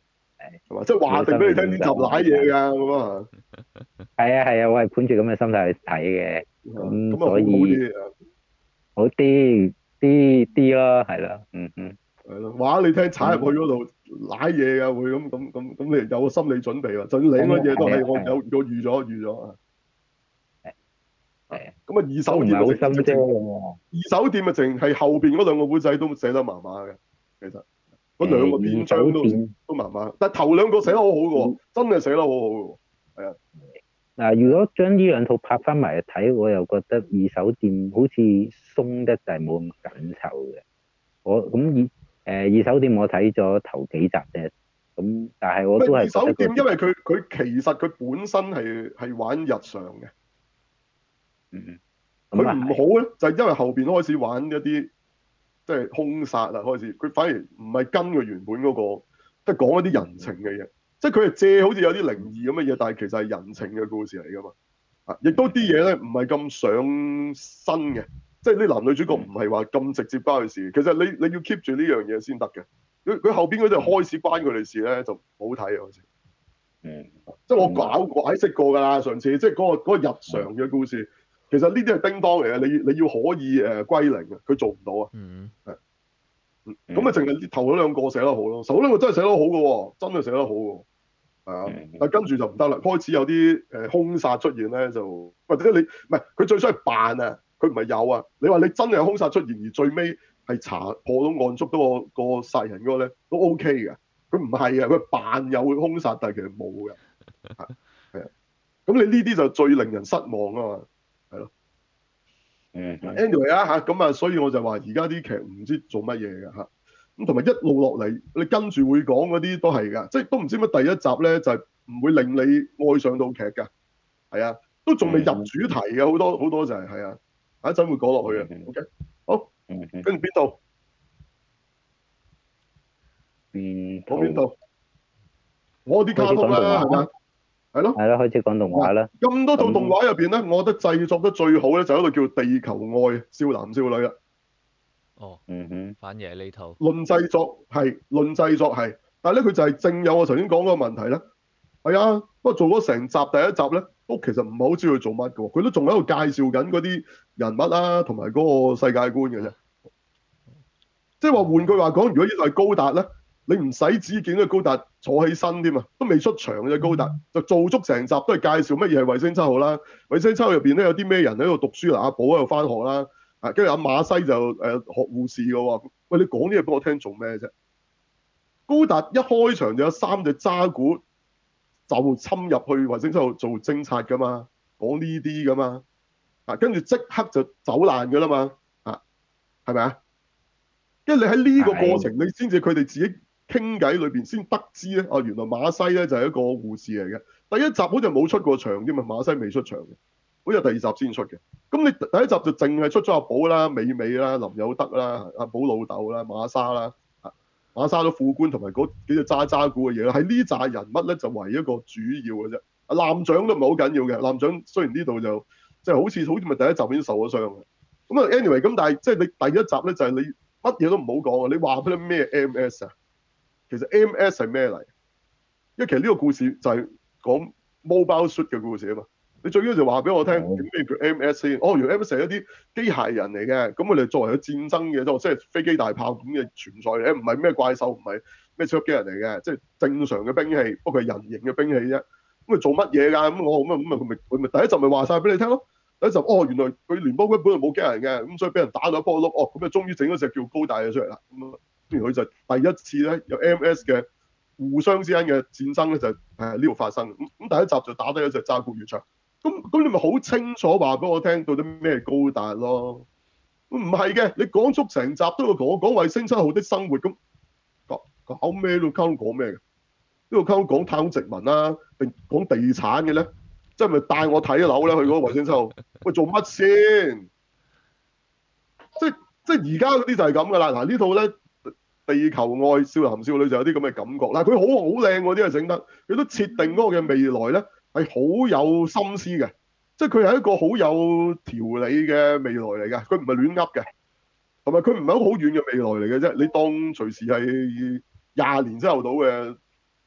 係嘛？即係話定俾你聽呢集瀨嘢㗎咁啊！ 係啊係啊，我係盤住咁嘅心態去睇嘅，咁咁啊好好所以啲， 好啲啲啲咯，係咯，嗯嗯。 係咯，話你聽踩入去嗰度瀨嘢㗎會咁咁咁咁，你有個心理準備喎。就算領嗰嘢都係我有我預咗預咗啊。 係啊。 咁啊，二手都唔係好店啊，直深啫情二手店啊，淨係後邊嗰兩個古仔都寫得麻麻嘅，其實嗰兩個篇章都都麻麻，但係頭兩個寫得好好嘅喎，真係寫得好好嘅喎，係啊。 嗱，如果將呢兩套拍翻埋嚟睇，我又覺得二手店好似鬆得滯，冇咁緊湊嘅。我咁二誒二手店我睇咗頭幾集啫，咁但係我都係二手店，因為佢佢其實佢本身係係玩日常嘅。 嗯。 佢唔好咧，就係因為後邊開始玩一啲即係兇殺啊，開始佢反而唔係跟佢原本嗰個，即係講一啲人情嘅嘢，即係佢係借好似有啲靈異咁嘅嘢，但係其實係人情嘅故事嚟噶嘛。啊，亦都啲嘢咧唔係咁上身嘅，即係啲男女主角唔係話咁直接關佢事。其實你你要 keep 住呢樣嘢先得嘅。佢佢後邊嗰啲開始關佢哋事咧就唔好睇啊，好似。 嗯。 即係我搞解釋過㗎啦，上次即係嗰個嗰個日常嘅故事。其實呢啲係叮當嚟嘅，你你要可以誒歸零嘅，佢做唔到啊。 嗯。 係。咁啊，淨係頭嗰兩個寫得好咯，頭嗰兩個真係寫得好嘅喎，真係寫得好喎。係啊，但係跟住就唔得啦，開始有啲誒兇殺出現咧，就或者你唔係佢最衰係扮啊，佢唔係有啊。你話你真係有兇殺出現，而最尾係查破到案捉到個個殺人嗰個咧，都 OK 嘅。佢唔係啊，佢扮有兇殺，但係其實冇嘅。係啊，咁你呢啲就最令人失望啊嘛。係咯， 嗯 ，anyway 啊嚇，咁啊，所以我就話而家啲劇唔知做乜嘢嘅嚇，咁同埋一路落嚟，你跟住會講嗰啲都係㗎，即係都唔知乜第一集咧就係唔會令你愛上到劇㗎，係啊，都仲未入主題嘅好多好多就係係啊，下一陣會講落去嘅，OK，好，跟住邊度？ 邊講邊度？我啲卡通啦，係咪？係咯， 係咯，開始講動畫啦。 咁多套動畫入邊咧，我覺得製作得最好咧就係一個叫《地球愛少男少女》啦。 哦， 嗯哼， 反而係呢套。 論製作係，論製作係，但係咧佢就係正有我頭先講嗰個問題咧。係啊，不過做咗成集第一集咧，都其實唔係好知佢做乜嘅喎，佢都仲喺度介紹緊嗰啲人物啦，同埋嗰個世界觀嘅啫。即係話換句話講，如果呢個係高達咧，你唔使只見到高達坐起身添啊，都未出場嘅高達，就做足成集都係介紹乜嘢係衛星七號啦。衛星七號入邊咧有啲咩人喺度讀書啦，阿寶喺度翻學啦，啊跟住阿馬西就誒、呃、學護士嘅喎。喂，你講啲嘢俾我聽做咩啫？高達一開場就有三隻渣古就侵入去衛星七號做偵察㗎嘛，講呢啲㗎嘛，啊跟住即刻就走爛㗎啦嘛，啊係咪啊？因為你喺呢個過程，你先至佢哋自己傾偈裏邊先得知咧，啊原來馬西咧就係一個護士嚟嘅。第一集好似冇出過場添嘛，馬西未出場嘅，好似第二集先出嘅。咁你第一集就淨係出咗阿寶啦、美美啦、林有德啦、阿寶老豆啦、馬莎啦，啊馬莎都副官同埋嗰幾隻渣渣股嘅嘢啦。喺呢扎人物咧就為一個主要嘅啫。啊艦長都唔係好緊要嘅，艦長雖然呢度就即係、就是、好似好似咪第一集已經受咗傷嘅。咁啊 anyway 咁，但係即係你第一集咧就係、是、你。乜嘢都唔好講啊！你話俾你咩 M S 啊？其實 M S 係咩嚟？因為其實呢個故事就係講 Mobile Suit 嘅故事啊嘛。你最緊要就話俾我聽咩叫 M S 先？哦，原來 M S 係一啲機械人嚟嘅，咁佢哋作為咗戰爭嘅，即係飛機大炮咁嘅存在嘅，唔係咩怪獸，唔係咩超級機人嚟嘅，即係正常嘅兵器，不過係人形嘅兵器啫。咁佢做乜嘢㗎？咁我咁啊咁啊，佢咪佢咪第一集咪話晒俾你聽咯。第一集哦，原來佢聯邦軍本來冇機人嘅，咁所以俾人打到一波碌，哦，咁就終於整咗隻叫高達嘅出嚟啦。咁啊，跟住佢就第一次咧有 M S 嘅互相之間嘅戰爭咧就係呢度發生。咁咁第一集就打低一隻渣古越長。咁咁你咪好清楚話俾我聽到底咩高達咯？唔係嘅，你講足成集都要同我講衛星七號的生活，咁搞搞咩都溝講咩嘅？呢度溝講太空殖民啦，定講地產嘅咧？即係咪帶我睇樓咧？去嗰個衛星七號，喂做乜先？即係即係而家嗰啲就係咁噶啦。嗱呢套咧地球愛少男少女就有啲咁嘅感覺。嗱佢好好靚嗰啲係整得，佢都設定嗰個嘅未來咧係好有心思嘅，即係佢係一個好有條理嘅未來嚟嘅，佢唔係亂噏嘅，同埋佢唔係一個好遠嘅未來嚟嘅啫。你當隨時係廿年之後到嘅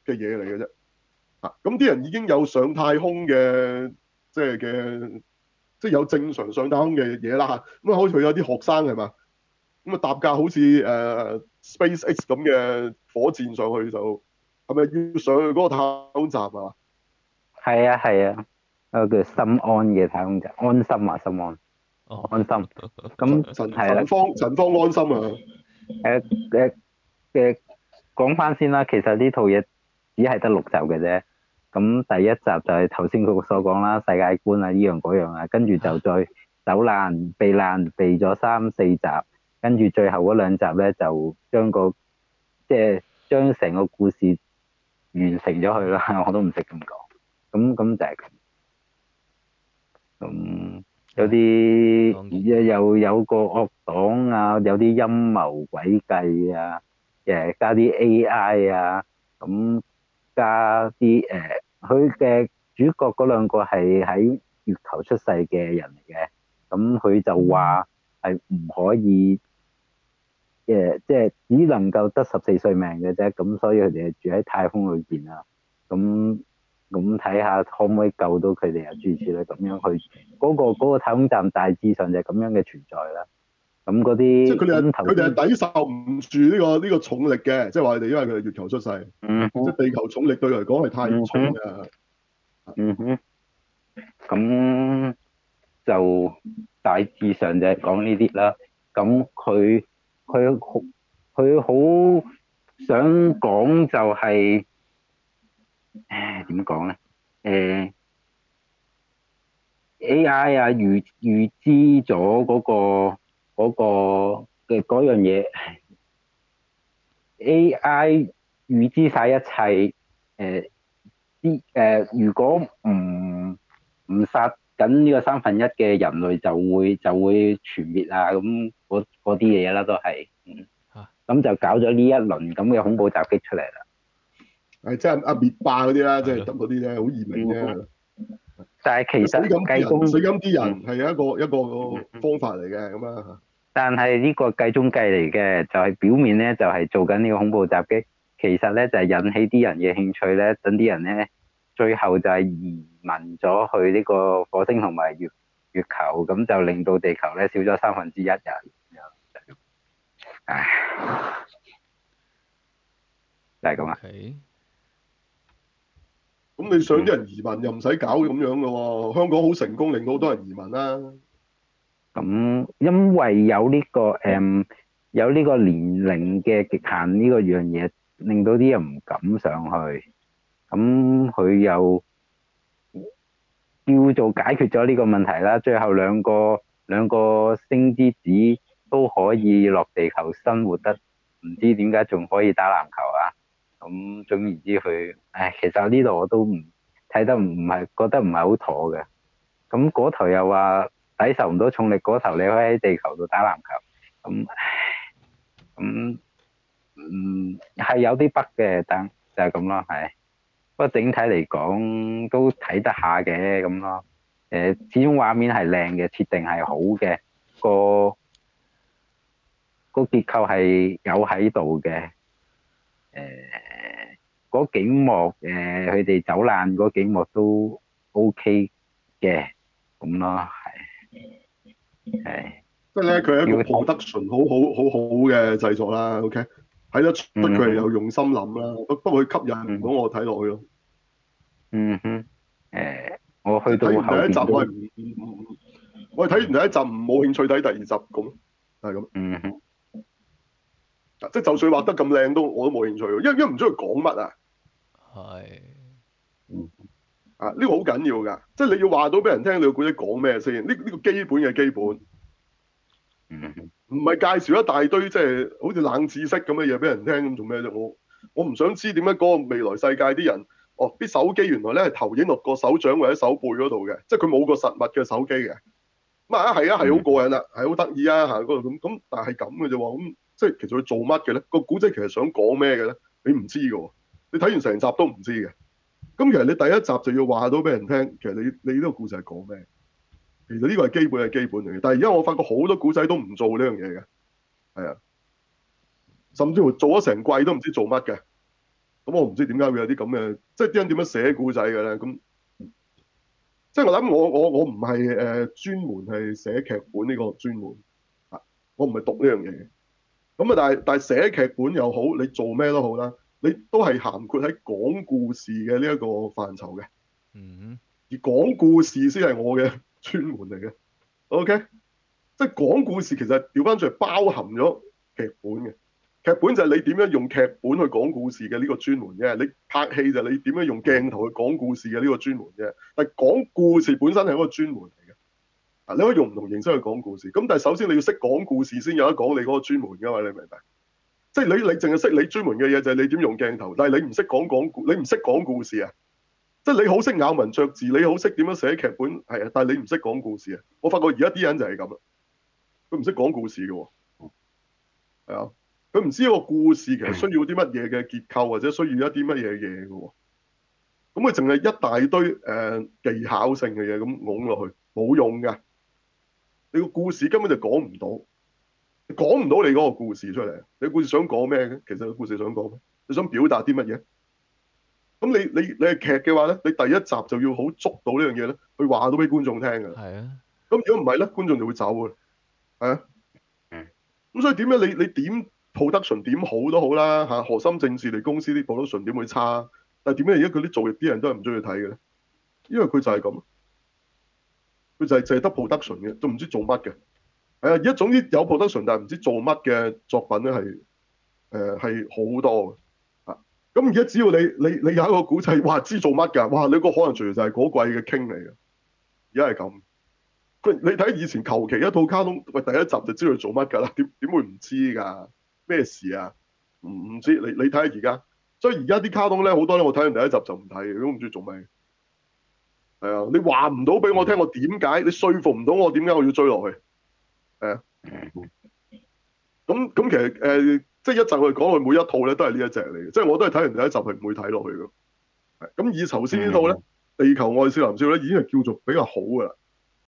嘅嘢嚟嘅啫。啊，咁啲人已經有上太空嘅，即係嘅，即係有正常上太空嘅嘢啦嚇。咁啊，好似有啲學生係嘛，咁啊搭架好似誒、呃、SpaceX 咁嘅火箭上去就係咪要上去嗰個太空站啊？ 係啊係啊，嗰個叫心安嘅太空站，安心啊心安， 哦， 安心。咁陳係啦， 陳方陳方安心啊！ 誒誒嘅講翻先啦，其實呢套嘢只係得六集嘅啫。咁第一集就係頭先佢所講啦，世界觀啊，呢樣嗰樣啊，跟住就再走難避難避咗三四集，跟住最後嗰兩集咧就將個即係將成個故事完成咗佢啦，我都唔識咁講。咁咁就係咁。咁有啲又又有個惡黨啊，有啲陰謀詭計啊，誒加啲 A I 啊，咁加啲誒，佢、呃、嘅主角嗰兩個係喺月球出世嘅人嚟嘅，咁佢就話係唔可以誒，即係只能夠得十四歲命嘅啫，咁所以佢哋係住喺太空裏邊啊，咁。咁睇下可唔可以救到佢哋啊？諸如此類咁樣去嗰、嗰個嗰個太空站大致上就係咁樣嘅存在啦。咁嗰啲即係佢哋係咁佢哋係抵受唔住呢、呢個呢、呢個重力嘅，即係話佢哋因為佢哋月球出世， 嗯哼， 即係地球重力對佢嚟講係太重嘅。 嗯哼，咁就大致上就係講呢啲啦。咁佢佢好佢好想講就係、誒點講咧？誒。A I 啊，預預知咗嗰、嗰個嗰、嗰個嘅嗰樣嘢，A I 預知晒一切，誒啲誒，如果唔唔殺緊呢個三分一嘅人類就會就會全滅啊！咁嗰嗰啲嘢啦，都係，嗯，咁就搞咗呢一輪咁嘅恐怖襲擊出嚟啦。 係即係阿滅霸嗰啲啦，即係係咯得嗰啲咧，好易明啫。 但係其實死咁啲計中人，死咁啲人嗯係一個一個方法嚟嘅咁啊。 但係呢個計中計嚟嘅，就係表面咧就係做緊呢個恐怖襲擊，其實咧就係引起啲人嘅興趣咧，等啲人咧最後就係移民咗去呢個火星同埋月月球，咁就令到地球咧少咗三分之一人。唉，就係咁啊。 咁你想啲人移民又唔使搞咁樣嘅喎，香港好成功，令到好多人移民啦。 咁因為有呢個誒有呢個年齡嘅極限呢個樣嘢，令到啲人唔敢上去。咁佢又叫做解決咗呢個問題啦。最後兩個兩個星之子都可以落地球生活得，唔知點解仲可以打籃球啊？咁總言之，佢唉，其實呢度我都唔睇得唔係覺得唔係好妥嘅。咁嗰頭又話抵受唔到重力，嗰頭你可以喺地球度打籃球。咁咁嗯係有啲北嘅，但就係咁咯，係。不過整體嚟講都睇得下嘅咁咯。誒，始終畫面係靚嘅，設定係好嘅，個個結構係有喺度嘅。誒，嗰幾幕誒，佢哋走難嗰幾幕都 OK 嘅，咁咯，係係。 即係咧，佢係一個 production 好好好好嘅製作啦。OK，睇得出佢係有用心諗啦。不不過佢吸引唔到我睇落去咯。 嗯哼，誒，我去到睇完第一集我後邊都係唔唔唔，我係睇完第一集唔冇興趣睇第二集咁，係咁。 嗯哼， 即係就算畫得咁靚都我都冇興趣，因為因為唔知佢講乜啊。 係。 啊，呢個好緊要㗎，即係你要話到俾人聽，你個故仔講咩先？呢呢個基本嘅基本。唔係介紹一大堆即係好似冷知識咁嘅嘢俾人聽，咁做咩啫？我我唔想知點解嗰個未來世界啲人，哦，啲手機原來咧係投影落個手掌或者手背嗰度嘅，即係佢冇個實物嘅手機嘅。咁啊係啊係好過癮啦，係好得意啊嚇嗰度咁咁，但係咁嘅啫喎，咁即係其實佢做乜嘅咧？個古仔其實想講咩嘅咧？你唔知嘅喎，你睇完成集都唔知嘅。咁其實你第一集就要話到俾人聽，其實你你呢個故事係講咩？其實呢個係基本係基本嚟嘅，但係而家我發覺好多古仔都唔做呢樣嘢嘅，係啊，甚至乎做咗成季都唔知做乜嘅， 咁我唔知點解會有啲咁嘅，即係啲人點樣寫故仔嘅咧？咁即係我諗我我我唔係誒專門係寫劇本呢個專門啊，我唔係讀呢樣嘢嘅。咁啊，但係但係寫劇本又好，你做咩都好啦，你都係涵括喺講故事嘅呢一個範疇嘅。 嗯。 而講故事先係我嘅專門嚟嘅。OK，即係講故事其實調翻轉係包含咗劇本嘅。劇本就係你點樣用劇本去講故事嘅呢個專門啫。你拍戲就係你點樣用鏡頭去講故事嘅呢個專門啫。但係講故事本身係一個專門嚟嘅。啊，你可以用唔同形式去講故事。咁但係首先你要識講故事先有得講你嗰個專門㗎嘛？你明唔明？即係你你淨係識你專門嘅嘢就係你點用鏡頭，但係你唔識講講故，你唔識講故事啊！即係你好識咬文嚼字，你好識點樣寫劇本，係啊，但係你唔識講故事啊！我發覺而家啲人就係咁啦，佢唔識講故事嘅喎，係啊，佢唔知個故事其實需要啲乜嘢嘅結構，或者需要一啲乜嘢嘢嘅喎，咁佢淨係一大堆誒、呃、技巧性嘅嘢咁㧬落去，冇用㗎，你個故事根本就講唔到。講唔到你嗰個故事出嚟，你個故事想講咩嘅？其實個故事想講咩？你想表達啲乜嘢？咁你你你係劇嘅話咧，你第一集就要好捉到呢樣嘢咧，去話到俾觀眾聽㗎。 係啊。 咁如果唔係咧，觀眾就會走㗎。係啊。嗯。咁所以點樣你你點 production 點好都好啦嚇，河森正治嚟公司啲 production 點會差？但係點解而家佢啲做啲人都係唔中意睇嘅咧？因為佢就係咁，佢就係淨係得 production 嘅，都唔知做乜嘅。係啊，而家總之有 production，但係唔知做乜嘅作品咧係誒係好多嘅啊！咁而家只要你你你有一個古仔，哇知做乜㗎？哇你個可能隨時就係嗰季嘅 king 嚟嘅，而家係咁。佢你睇以前求其一套卡通，喂第一集就知佢做乜㗎啦？點點會唔知㗎？咩事啊？唔唔知你你睇下而家，所以而家啲卡通咧好多咧，我睇完第一集就唔睇嘅，都唔知做咩。係啊，你話唔到俾我聽，我點解？你說服唔到我點解我要追落去？係啊。咁咁其實誒、呃，即係一陣我哋講佢每一套咧，都係呢一隻嚟嘅，即係我都係睇完第一集係唔會睇落去嘅。咁以頭先呢套咧，《地球愛少男少》咧已經係叫做比較好㗎啦。